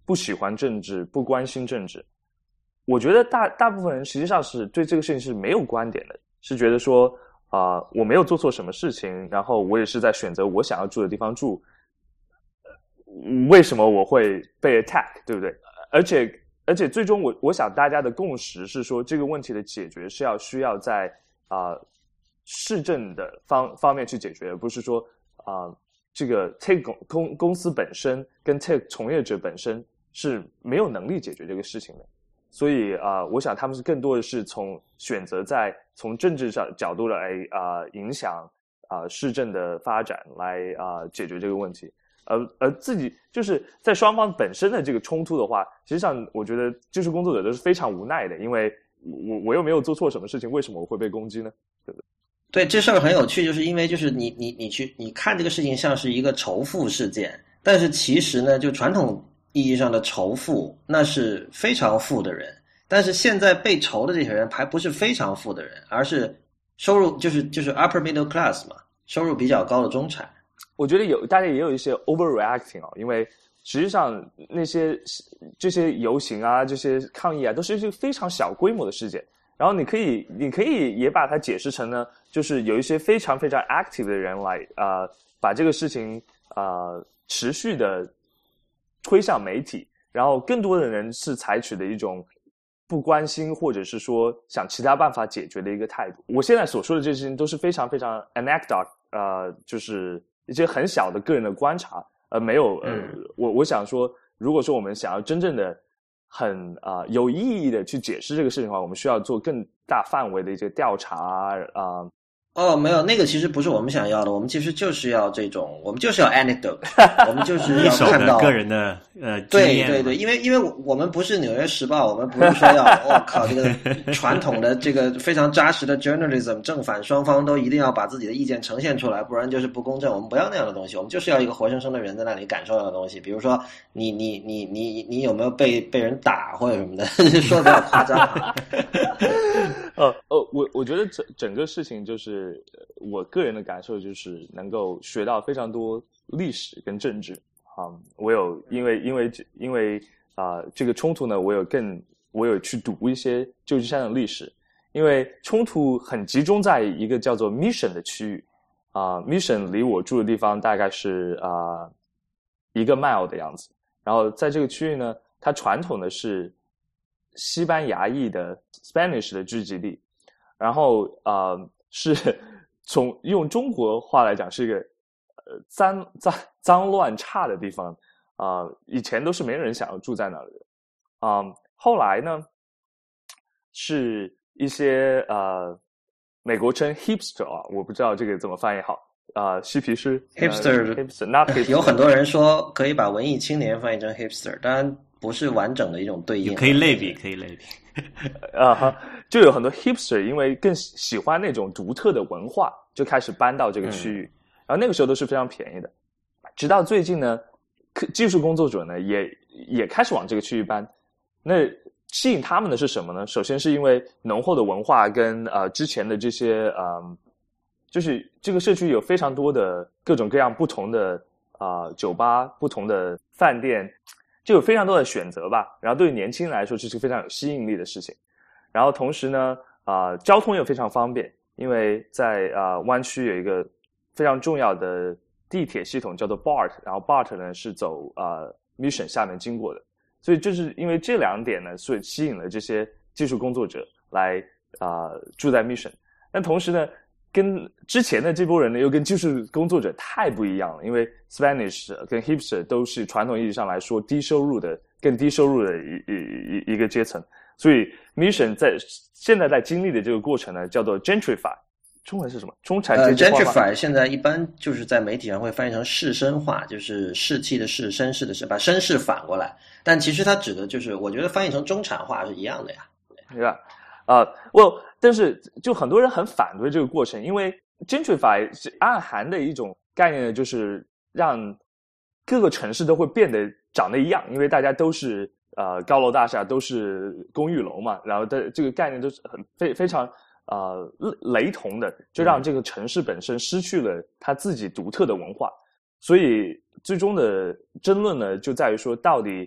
不喜欢政治、不关心政治。我觉得大大部分人实际上是对这个事情是没有观点的，是觉得说啊、呃，我没有做错什么事情，然后我也是在选择我想要住的地方住，为什么我会被 attack， 对不对？而且而且最终我我想大家的共识是说，这个问题的解决是要需要在啊、呃、市政的方方面去解决，而不是说啊、呃、这个 tech 公公公司本身跟 tech 从业者本身是没有能力解决这个事情的。所以啊、呃，我想他们是更多的是从选择在从政治上角度来啊、呃、影响啊、呃、市政的发展来啊、呃、解决这个问题，而而自己就是在双方本身的这个冲突的话，实际上我觉得技术工作者都是非常无奈的，因为我我又没有做错什么事情，为什么我会被攻击呢？对不对？ 对，这事儿很有趣，就是因为就是你你你去你看这个事情像是一个仇富事件，但是其实呢，就传统意义上的仇富，那是非常富的人，但是现在被仇的这些人还不是非常富的人，而是收入就是就是 upper middle class 嘛，收入比较高的中产。 我觉得有大家也有一些 overreacting 哦，因为实际上那些这些游行啊、这些抗议啊，都是一些非常小规模的事件。然后你可以你可以也把它解释成呢，就是有一些非常非常 active 的人来啊、呃，把这个事情啊、呃、持续的推向媒体，然后更多的人是采取的一种不关心或者是说想其他办法解决的一个态度。我现在所说的这些事情都是非常非常 anecdote， 呃，就是一些很小的个人的观察，呃，没有呃，我我想说，如果说我们想要真正的很啊、呃、有意义的去解释这个事情的话，我们需要做更大范围的一些调查啊。呃哦，没有，那个其实不是我们想要的，我们其实就是要这种，我们就是要 anecdote， 我们就是要看到个人的呃经验。 对对对，因为因为我们不是纽约时报，我们不是说要我、哦、靠这个传统的这个非常扎实的 journalism， 正反双方都一定要把自己的意见呈现出来，不然就是不公正。我们不要那样的东西，我们就是要一个活生生的人在那里感受到的东西。比如说你你你你你有没有被被人打或者什么的，说的比较夸张。 呃呃，我我觉得整整个事情就是我个人的感受就是能够学到非常多历史跟政治啊、嗯。我有因为因为因为啊、呃、这个冲突呢，我有更我有去读一些旧金山的历史，因为冲突很集中在一个叫做 Mission 的区域啊、呃、，Mission 离我住的地方大概是啊、呃、一个 mile 的样子，然后在这个区域呢，它传统的是西班牙裔的 Spanish 的聚集地，然后呃是从用中国话来讲是一个呃脏脏脏乱差的地方啊、呃，以前都是没人想要住在那里的啊、呃，后来呢是一些呃美国称 hipster 啊，我不知道这个怎么翻译好啊、呃，嬉皮士 hipster、 呃、hipster not hipster， 有很多人说可以把文艺青年翻译成 hipster， 当然不是完整的一种对应， 可以类比，可以类比。 啊哈，就有很多 hipster 因为更喜欢那种独特的文化，就开始搬到这个区域，嗯、然后那个时候都是非常便宜的。直到最近呢，技术工作者呢也也开始往这个区域搬。那吸引他们的是什么呢？首先是因为浓厚的文化跟呃之前的这些呃，就是这个社区有非常多的各种各样不同的啊、呃、酒吧、不同的饭店。就有非常多的选择吧，然后对于年轻人来说这是非常有吸引力的事情。然后同时呢，啊、呃，交通又非常方便，因为在啊、呃、湾区有一个非常重要的地铁系统叫做 B A R T， 然后 B A R T 呢是走啊、呃、Mission 下面经过的，所以就是因为这两点呢，所以吸引了这些技术工作者来啊、呃、住在 Mission。但同时呢，跟之前的这波人呢，又跟技术工作者太不一样了，因为 Spanish 跟 Hipster 都是传统意义上来说低收入的、更低收入的一一一一个阶层，所以 Mission 在现在在经历的这个过程呢，叫做 gentrify， 中文是什么？中产阶级化。 呃 gentrify 现在一般就是在媒体上会翻译成士绅化，就是士气的士，绅士的士，把绅士反过来，但其实它指的就是，我觉得翻译成中产化是一样的呀， 对吧？啊，我但是就很多人很反对这个过程，因为 gentrify 是暗含的一种概念呢，就是让各个城市都会变得长得一样，因为大家都是呃高楼大厦，都是公寓楼嘛，然后的这个概念都是很非非常呃雷同的，就让这个城市本身失去了它自己独特的文化，所以最终的争论呢，就在于说到底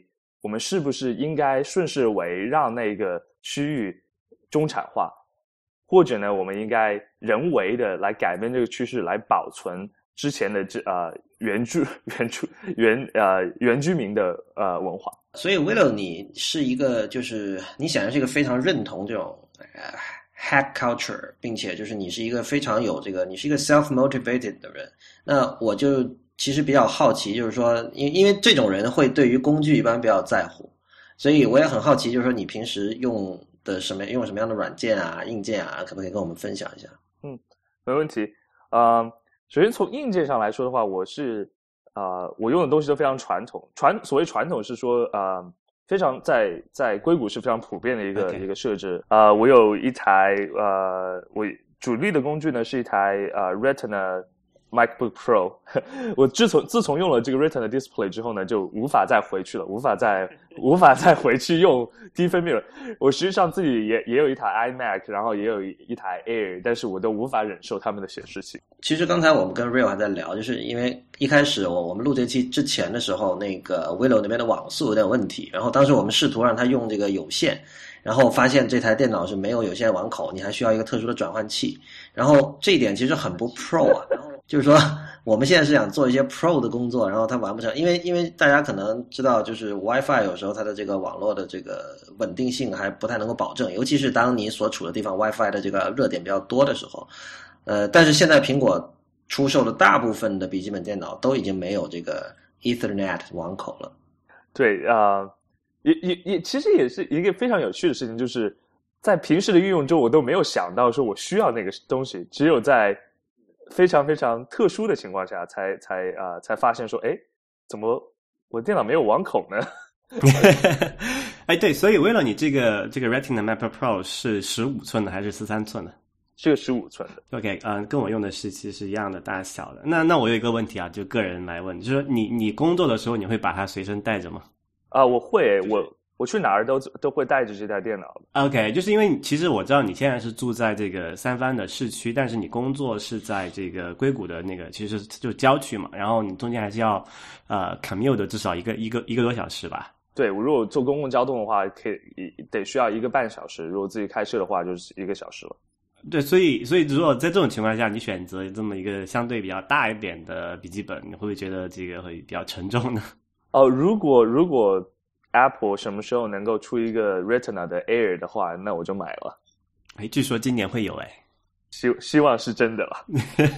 我们是不是应该顺势为让那个区域中产化，或者呢，我们应该人为的来改变这个趋势，来保存之前的这呃原住原住原呃原居民的呃文化。 所以 Willow 你是一个就是你显然是一个非常认同这种呃 hack culture， 并且就是你是一个非常有这个你是一个 self motivated 的人。那我就其实比较好奇，就是说因因为这种人会对于工具一般比较在乎，所以我也很好奇，就是说你平时用的什么用什么样的软件啊硬件啊，可不可以跟我们分享一下？ 嗯，没问题。呃，首先从硬件上来说的话，我是呃我用的东西都非常传统。传所谓传统是说呃非常在在硅谷是非常普遍的一个、okay. 一个设置。呃，我有一台呃我主力的工具呢是一台呃 Retina MacBook Pro， 我自从自从用了这个 Retina Display 之后呢，就无法再回去了，无法再无法再回去用低分辨率。我实际上自己也也有一台 iMac， 然后也有一一台 Air， 但是我都无法忍受他们的显示器。 其实刚才我们跟 Real 还在聊，就是因为一开始我我们录这期之前的时候，那个 Willow 那边的网速有点问题，然后当时我们试图让他用这个有线。然后发现这台电脑是没有有线网口，你还需要一个特殊的转换器。然后这一点其实很不 pro 啊。就是说我们现在是想做一些 pro 的工作，然后它完不成，因为因为大家可能知道，就是 WiFi 有时候它的这个网络的这个稳定性还不太能够保证，尤其是当你所处的地方 WiFi 的这个热点比较多的时候。呃，但是现在苹果出售的大部分的笔记本电脑都已经没有这个 Ethernet 网口了。 对啊。呃也也也，其实也是一个非常有趣的事情，就是在平时的运用中，我都没有想到说我需要那个东西，只有在非常非常特殊的情况下，才才啊、呃、才发现说，哎，怎么我电脑没有网口呢？ 哎，对，所以为了你这个这个 Retina MacBook Pro 是十五寸的还是十三寸的？ 是个十五寸的。 OK， 嗯、呃，跟我用的是其实是一样的大小的。那那我有一个问题啊，就个人来问，就是说你你工作的时候，你会把它随身带着吗？ 啊、呃，我会，我我去哪儿都都会带着这台电脑。 OK， 就是因为其实我知道你现在是住在这个三藩的市区，但是你工作是在这个硅谷的那个，其实就郊区嘛，然后你中间还是要呃 commute 的至少一个一个一个多小时吧。 对，我如果坐公共交通的话，可以得需要一个半小时；如果自己开车的话，就是一个小时了。 对，所以所以如果在这种情况下，你选择这么一个相对比较大一点的笔记本，你会不会觉得这个会比较沉重呢？ 哦，如果如果 Apple 什么时候能够出一个 Retina 的 Air 的话，那我就买了。 哎，据说今年会有哎， 希希望是真的了。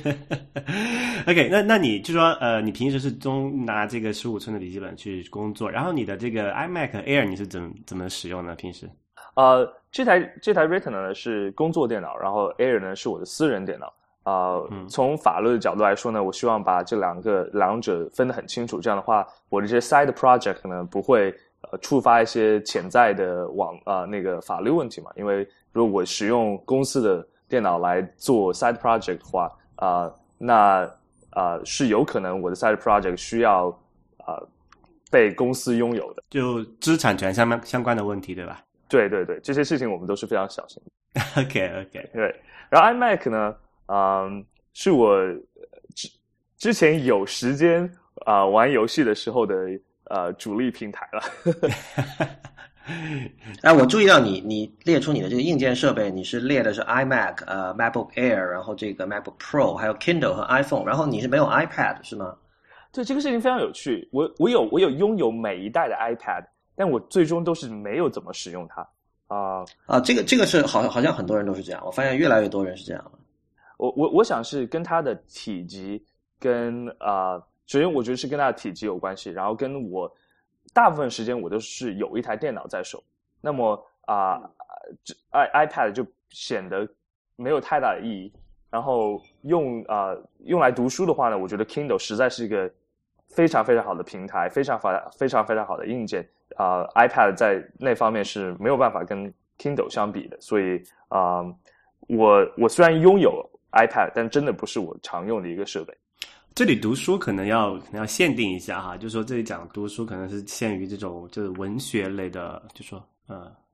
OK， 那那你就说呃，你平时是中拿这个十五寸的笔记本去工作，然后你的这个 iMac Air 你是怎么怎么使用呢？平时？ 呃，这台这台 Retina 呢是工作电脑，然后 Air 呢是我的私人电脑。啊、呃嗯，从法律的角度来说呢，我希望把这两个两者分得很清楚。这样的话，我的这些 side project 呢不会呃触发一些潜在的网啊、呃、那个法律问题嘛。因为如果我使用公司的电脑来做 side project 的话，啊、呃，那啊、呃、是有可能我的 side project 需要啊、呃、被公司拥有的， 就知识产权相相关的问题，对吧？ 对对对，这些事情我们都是非常小心的。 OK OK， 对。然后 iMac 呢？嗯，是我之之前有时间啊、呃、玩游戏的时候的呃主力平台了。 哎，我注意到你你列出你的这个硬件设备，你是列的是 iMac、呃 MacBook Air， 然后这个 MacBook Pro， 还有 Kindle 和 iPhone， 然后你是没有 iPad 是吗？ 对，这个事情非常有趣。我我有我有拥有每一代的 iPad， 但我最终都是没有怎么使用它啊、呃、 啊，这个这个是好好像很多人都是这样，我发现越来越多人是这样了。 我我我想是跟它的体积跟啊、呃，首先我觉得是跟它的体积有关系，然后跟我大部分时间我都是有一台电脑在手，那么啊、呃、i iPad 就显得没有太大的意义。然后用啊、呃、用来读书的话呢，我觉得 Kindle 实在是一个非常非常好的平台，非常非非常非常好的硬件啊、呃、iPad 在那方面是没有办法跟 Kindle 相比的，所以啊、呃、我我虽然拥有iPad， 但真的不是我常用的一个设备。 这里读书可能要可能要限定一下哈，就是说这里讲读书可能是限于这种就是文学类的，就说呃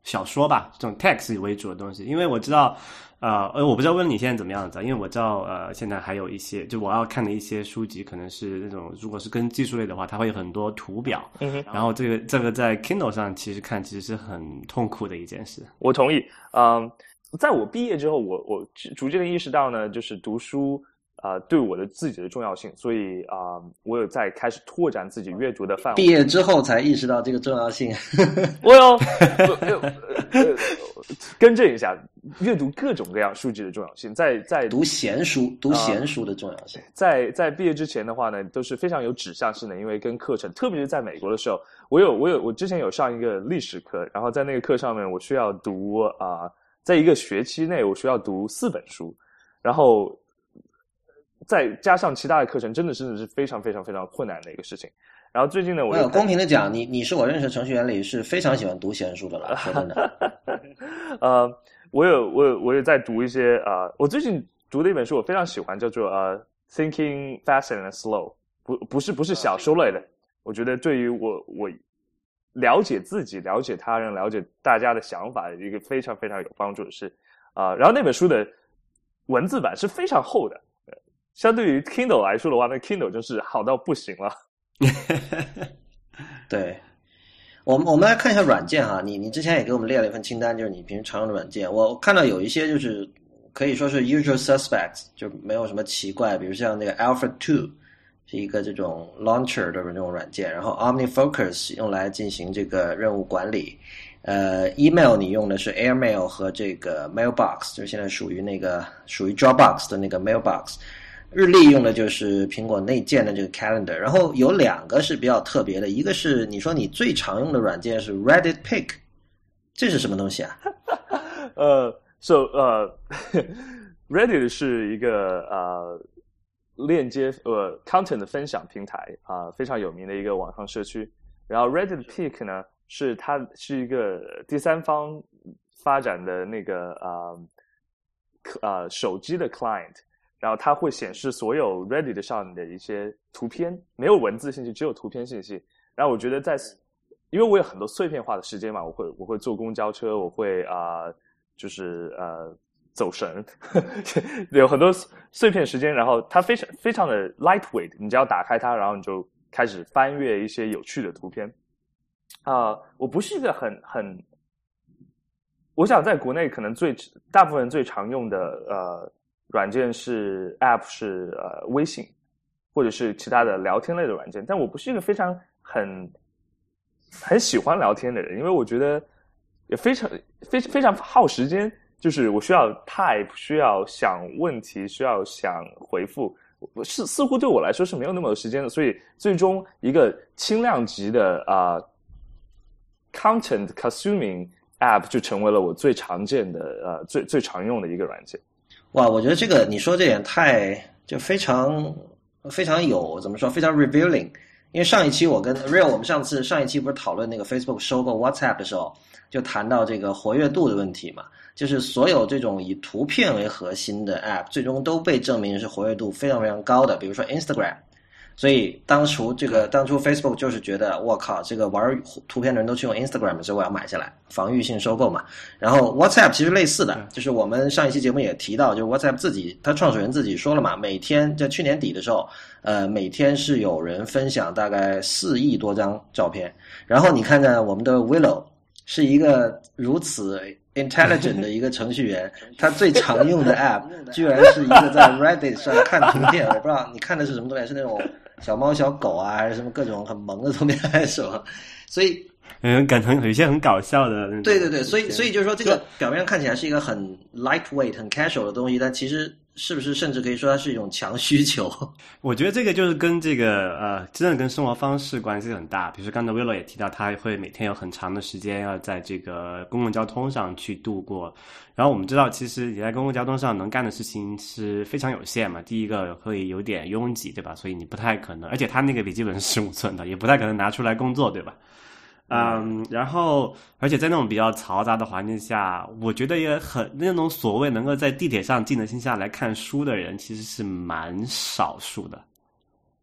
小说吧，这种 text 为主的东西。因为我知道，呃，呃，我不知道问你现在怎么样子，因为我知道，呃，现在还有一些，就我要看的一些书籍，可能是那种，如果是跟技术类的话，它会有很多图表， 嗯哼， 然后这个这个在 Kindle 上其实看其实是很痛苦的一件事。 我同意，嗯，在我毕业之后，我我逐渐的意识到呢，就是读书。呃，对我的自己的重要性，所以啊、呃，我有在开始拓展自己阅读的范围。 毕业之后才意识到这个重要性。 我有、呃呃、更正一下，阅读各种各样书籍的重要性，在在读闲书，读闲书的重要性。 呃、在在毕业之前的话呢，都是非常有指向性的，因为跟课程，特别是在美国的时候，我有我有我之前有上一个历史课，然后在那个课上面，我需要读啊、呃，在一个学期内我需要读四本书，然后。再加上其他的课程，真的真的是非常非常非常困难的一个事情。然后最近呢，我有公平的讲，你你是我认识程序员里是非常喜欢读闲书的了，说真的。 呃，我有我有我有在读一些啊、呃，我最近读的一本书我非常喜欢，叫做呃《Thinking Fast and Slow》，不不是不是小说类的，我觉得对于我我了解自己、了解他人、了解大家的想法一个非常非常有帮助的事啊、呃。然后那本书的文字版是非常厚的。相对于 Kindle 来说的话，那 Kindle 就是好到不行了。 对，我们我们来看一下软件哈，你你之前也给我们列了一份清单，就是你平时常用的软件。我看到有一些就是可以说是 usual suspects， 就没有什么奇怪，比如像那个 Alpha two 是一个这种 launcher 的这种软件，然后 OmniFocus 用来进行这个任务管理。呃 ，email 你用的是 Airmail 和这个 Mailbox， 就是现在属于那个属于 Dropbox 的那个 Mailbox。日历用的就是苹果内建的这个 Calendar， 然后有两个是比较特别的，一个是你说你最常用的软件是 Reddit Pick， 这是什么东西啊？ 呃 ，so 呃、uh, ，Reddit 是一个呃链接呃 content 的分享平台啊、呃，非常有名的一个网上社区。然后 Reddit Pick 呢，是它是一个第三方发展的那个呃呃手机的 client。然后它会显示所有 Reddit 上的一些图片，没有文字信息，只有图片信息。然后我觉得在，因为我有很多碎片化的时间嘛，我会我会坐公交车，我会啊、呃，就是呃走神，有很多碎片时间。然后它非常非常的 lightweight， 你只要打开它，然后你就开始翻阅一些有趣的图片。啊、呃，我不是一个很很，我想在国内可能最大部分人最常用的呃。软件是 App 是呃微信，或者是其他的聊天类的软件，但我不是一个非常很很喜欢聊天的人，因为我觉得也非常非非常耗时间，就是我需要 type， 需要想问题，需要想回复，是似乎对我来说是没有那么有时间的，所以最终一个轻量级的啊、呃、content consuming App 就成为了我最常见的呃最最常用的一个软件。 哇，我觉得这个你说这点太就非常非常有怎么说，非常 revealing。因为上一期我跟 Real， 我们上次上一期不是讨论那个 Facebook 收购 WhatsApp 的时候，就谈到这个活跃度的问题嘛，就是所有这种以图片为核心的 App， 最终都被证明是活跃度非常非常高的，比如说 Instagram。所以当初这个当初 Facebook 就是觉得我靠，这个玩图片的人都去用 Instagram， 所以我要买下来，防御性收购嘛。然后 WhatsApp 其实类似的，就是我们上一期节目也提到，就是 WhatsApp 自己，他创始人自己说了嘛，每天在去年底的时候，呃，每天是有人分享大概四亿多张照片。然后你看看我们的 Willow 是一个如此 intelligent 的一个程序员，他最常用的 app 居然是一个在 Reddit 上看图片，我不知道你看的是什么东西，是那种小猫小狗啊，还是什么各种很萌的图片，还是什么？所以嗯，感觉有一些很搞笑的那种。 对对对，所以所以就是说，这个表面上看起来是一个很 lightweight、很 casual 的东西，但其实是不是甚至可以说它是一种强需求？ 我觉得这个就是跟这个呃，真的跟生活方式关系很大。比如说刚才 Willow 也提到，他会每天有很长的时间要在这个公共交通上去度过。然后我们知道，其实你在公共交通上能干的事情是非常有限嘛。第一个会有点拥挤，对吧？所以你不太可能，而且他那个笔记本是十五寸的，也不太可能拿出来工作，对吧？嗯，然后，而且在那种比较嘈杂的环境下，我觉得也很那种所谓能够在地铁上静得心下来看书的人，其实是蛮少数的。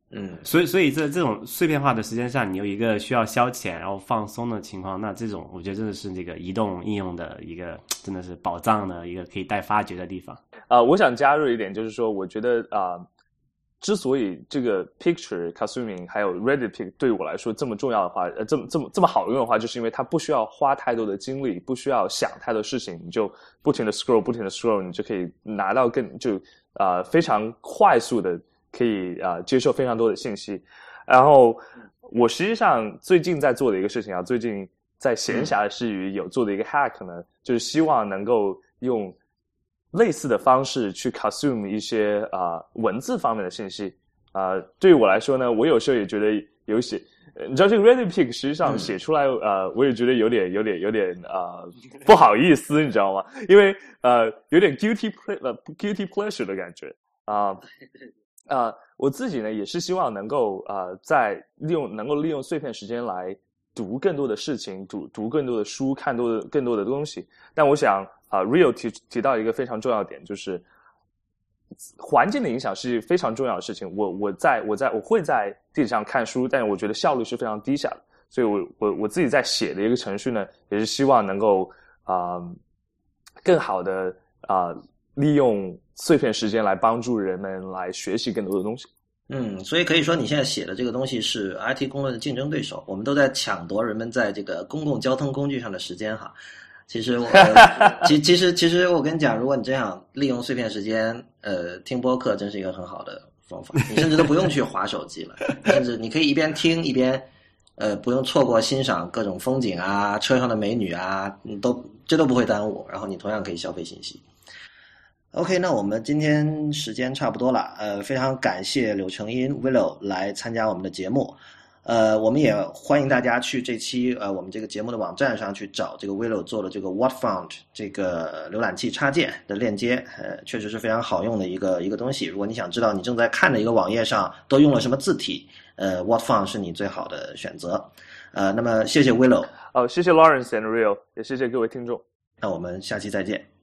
嗯， 所以所以在这种碎片化的时间上，你有一个需要消遣然后放松的情况，那这种我觉得真的是这个移动应用的一个真的是宝藏的一个可以待发掘的地方。 啊、呃，我想加入一点，就是说，我觉得啊、呃，之所以这个 Picture、Kasumi 还有 ReadyPic 对我来说这么重要的话，呃，这么这么这么好用的话，就是因为它不需要花太多的精力，不需要想太多事情，你就不停的 scroll， 不停的 scroll， 你就可以拿到更就啊、呃、非常快速的可以啊、呃、接受非常多的信息。然后我实际上最近在做的一个事情啊，最近在闲暇之余有做的一个 hack 呢，就是希望能够用类似的方式去 consume 一些啊、呃、文字方面的信息啊、呃。对于我来说呢，我有时候也觉得有些，你知道这个 ReadyPic 实际上写出来、嗯、呃，我也觉得有点有点有点啊、呃、不好意思，你知道吗？因为呃有点 guilty ple 呃 guilty pleasure 的感觉啊啊、呃呃，我自己呢也是希望能够呃在利用能够利用碎片时间来读更多的事情，读读更多的书，看多的更多的东西。但我想啊、呃、，Rio 提提到一个非常重要的点，就是环境的影响是非常重要的事情。我我在我在我会在地铁上看书，但我觉得效率是非常低下的。所以我我我自己在写的一个程序呢，也是希望能够啊、呃、更好的啊、呃、利用碎片时间来帮助人们来学习更多的东西。 嗯，所以可以说你现在写的这个东西是 I T 公论的竞争对手，我们都在抢夺人们在这个公共交通工具上的时间哈。其实我其其实其实我跟你讲，如果你真想利用碎片时间，呃，听播客真是一个很好的方法。你甚至都不用去滑手机了，甚至你可以一边听一边，呃，不用错过欣赏各种风景啊、车上的美女啊，都这都不会耽误。然后你同样可以消费信息。OK， 那我们今天时间差不多了，呃，非常感谢柳成荫 Willow 来参加我们的节目，呃，我们也欢迎大家去这期呃我们这个节目的网站上去找这个 Willow 做的这个 WhatFont 这个浏览器插件的链接，呃，确实是非常好用的一个一个东西。如果你想知道你正在看的一个网页上都用了什么字体，呃 WhatFont 是你最好的选择。呃，那么谢谢 Willow， 哦，谢谢 Lawrence and Rio， 也谢谢各位听众。 那我们下期再见。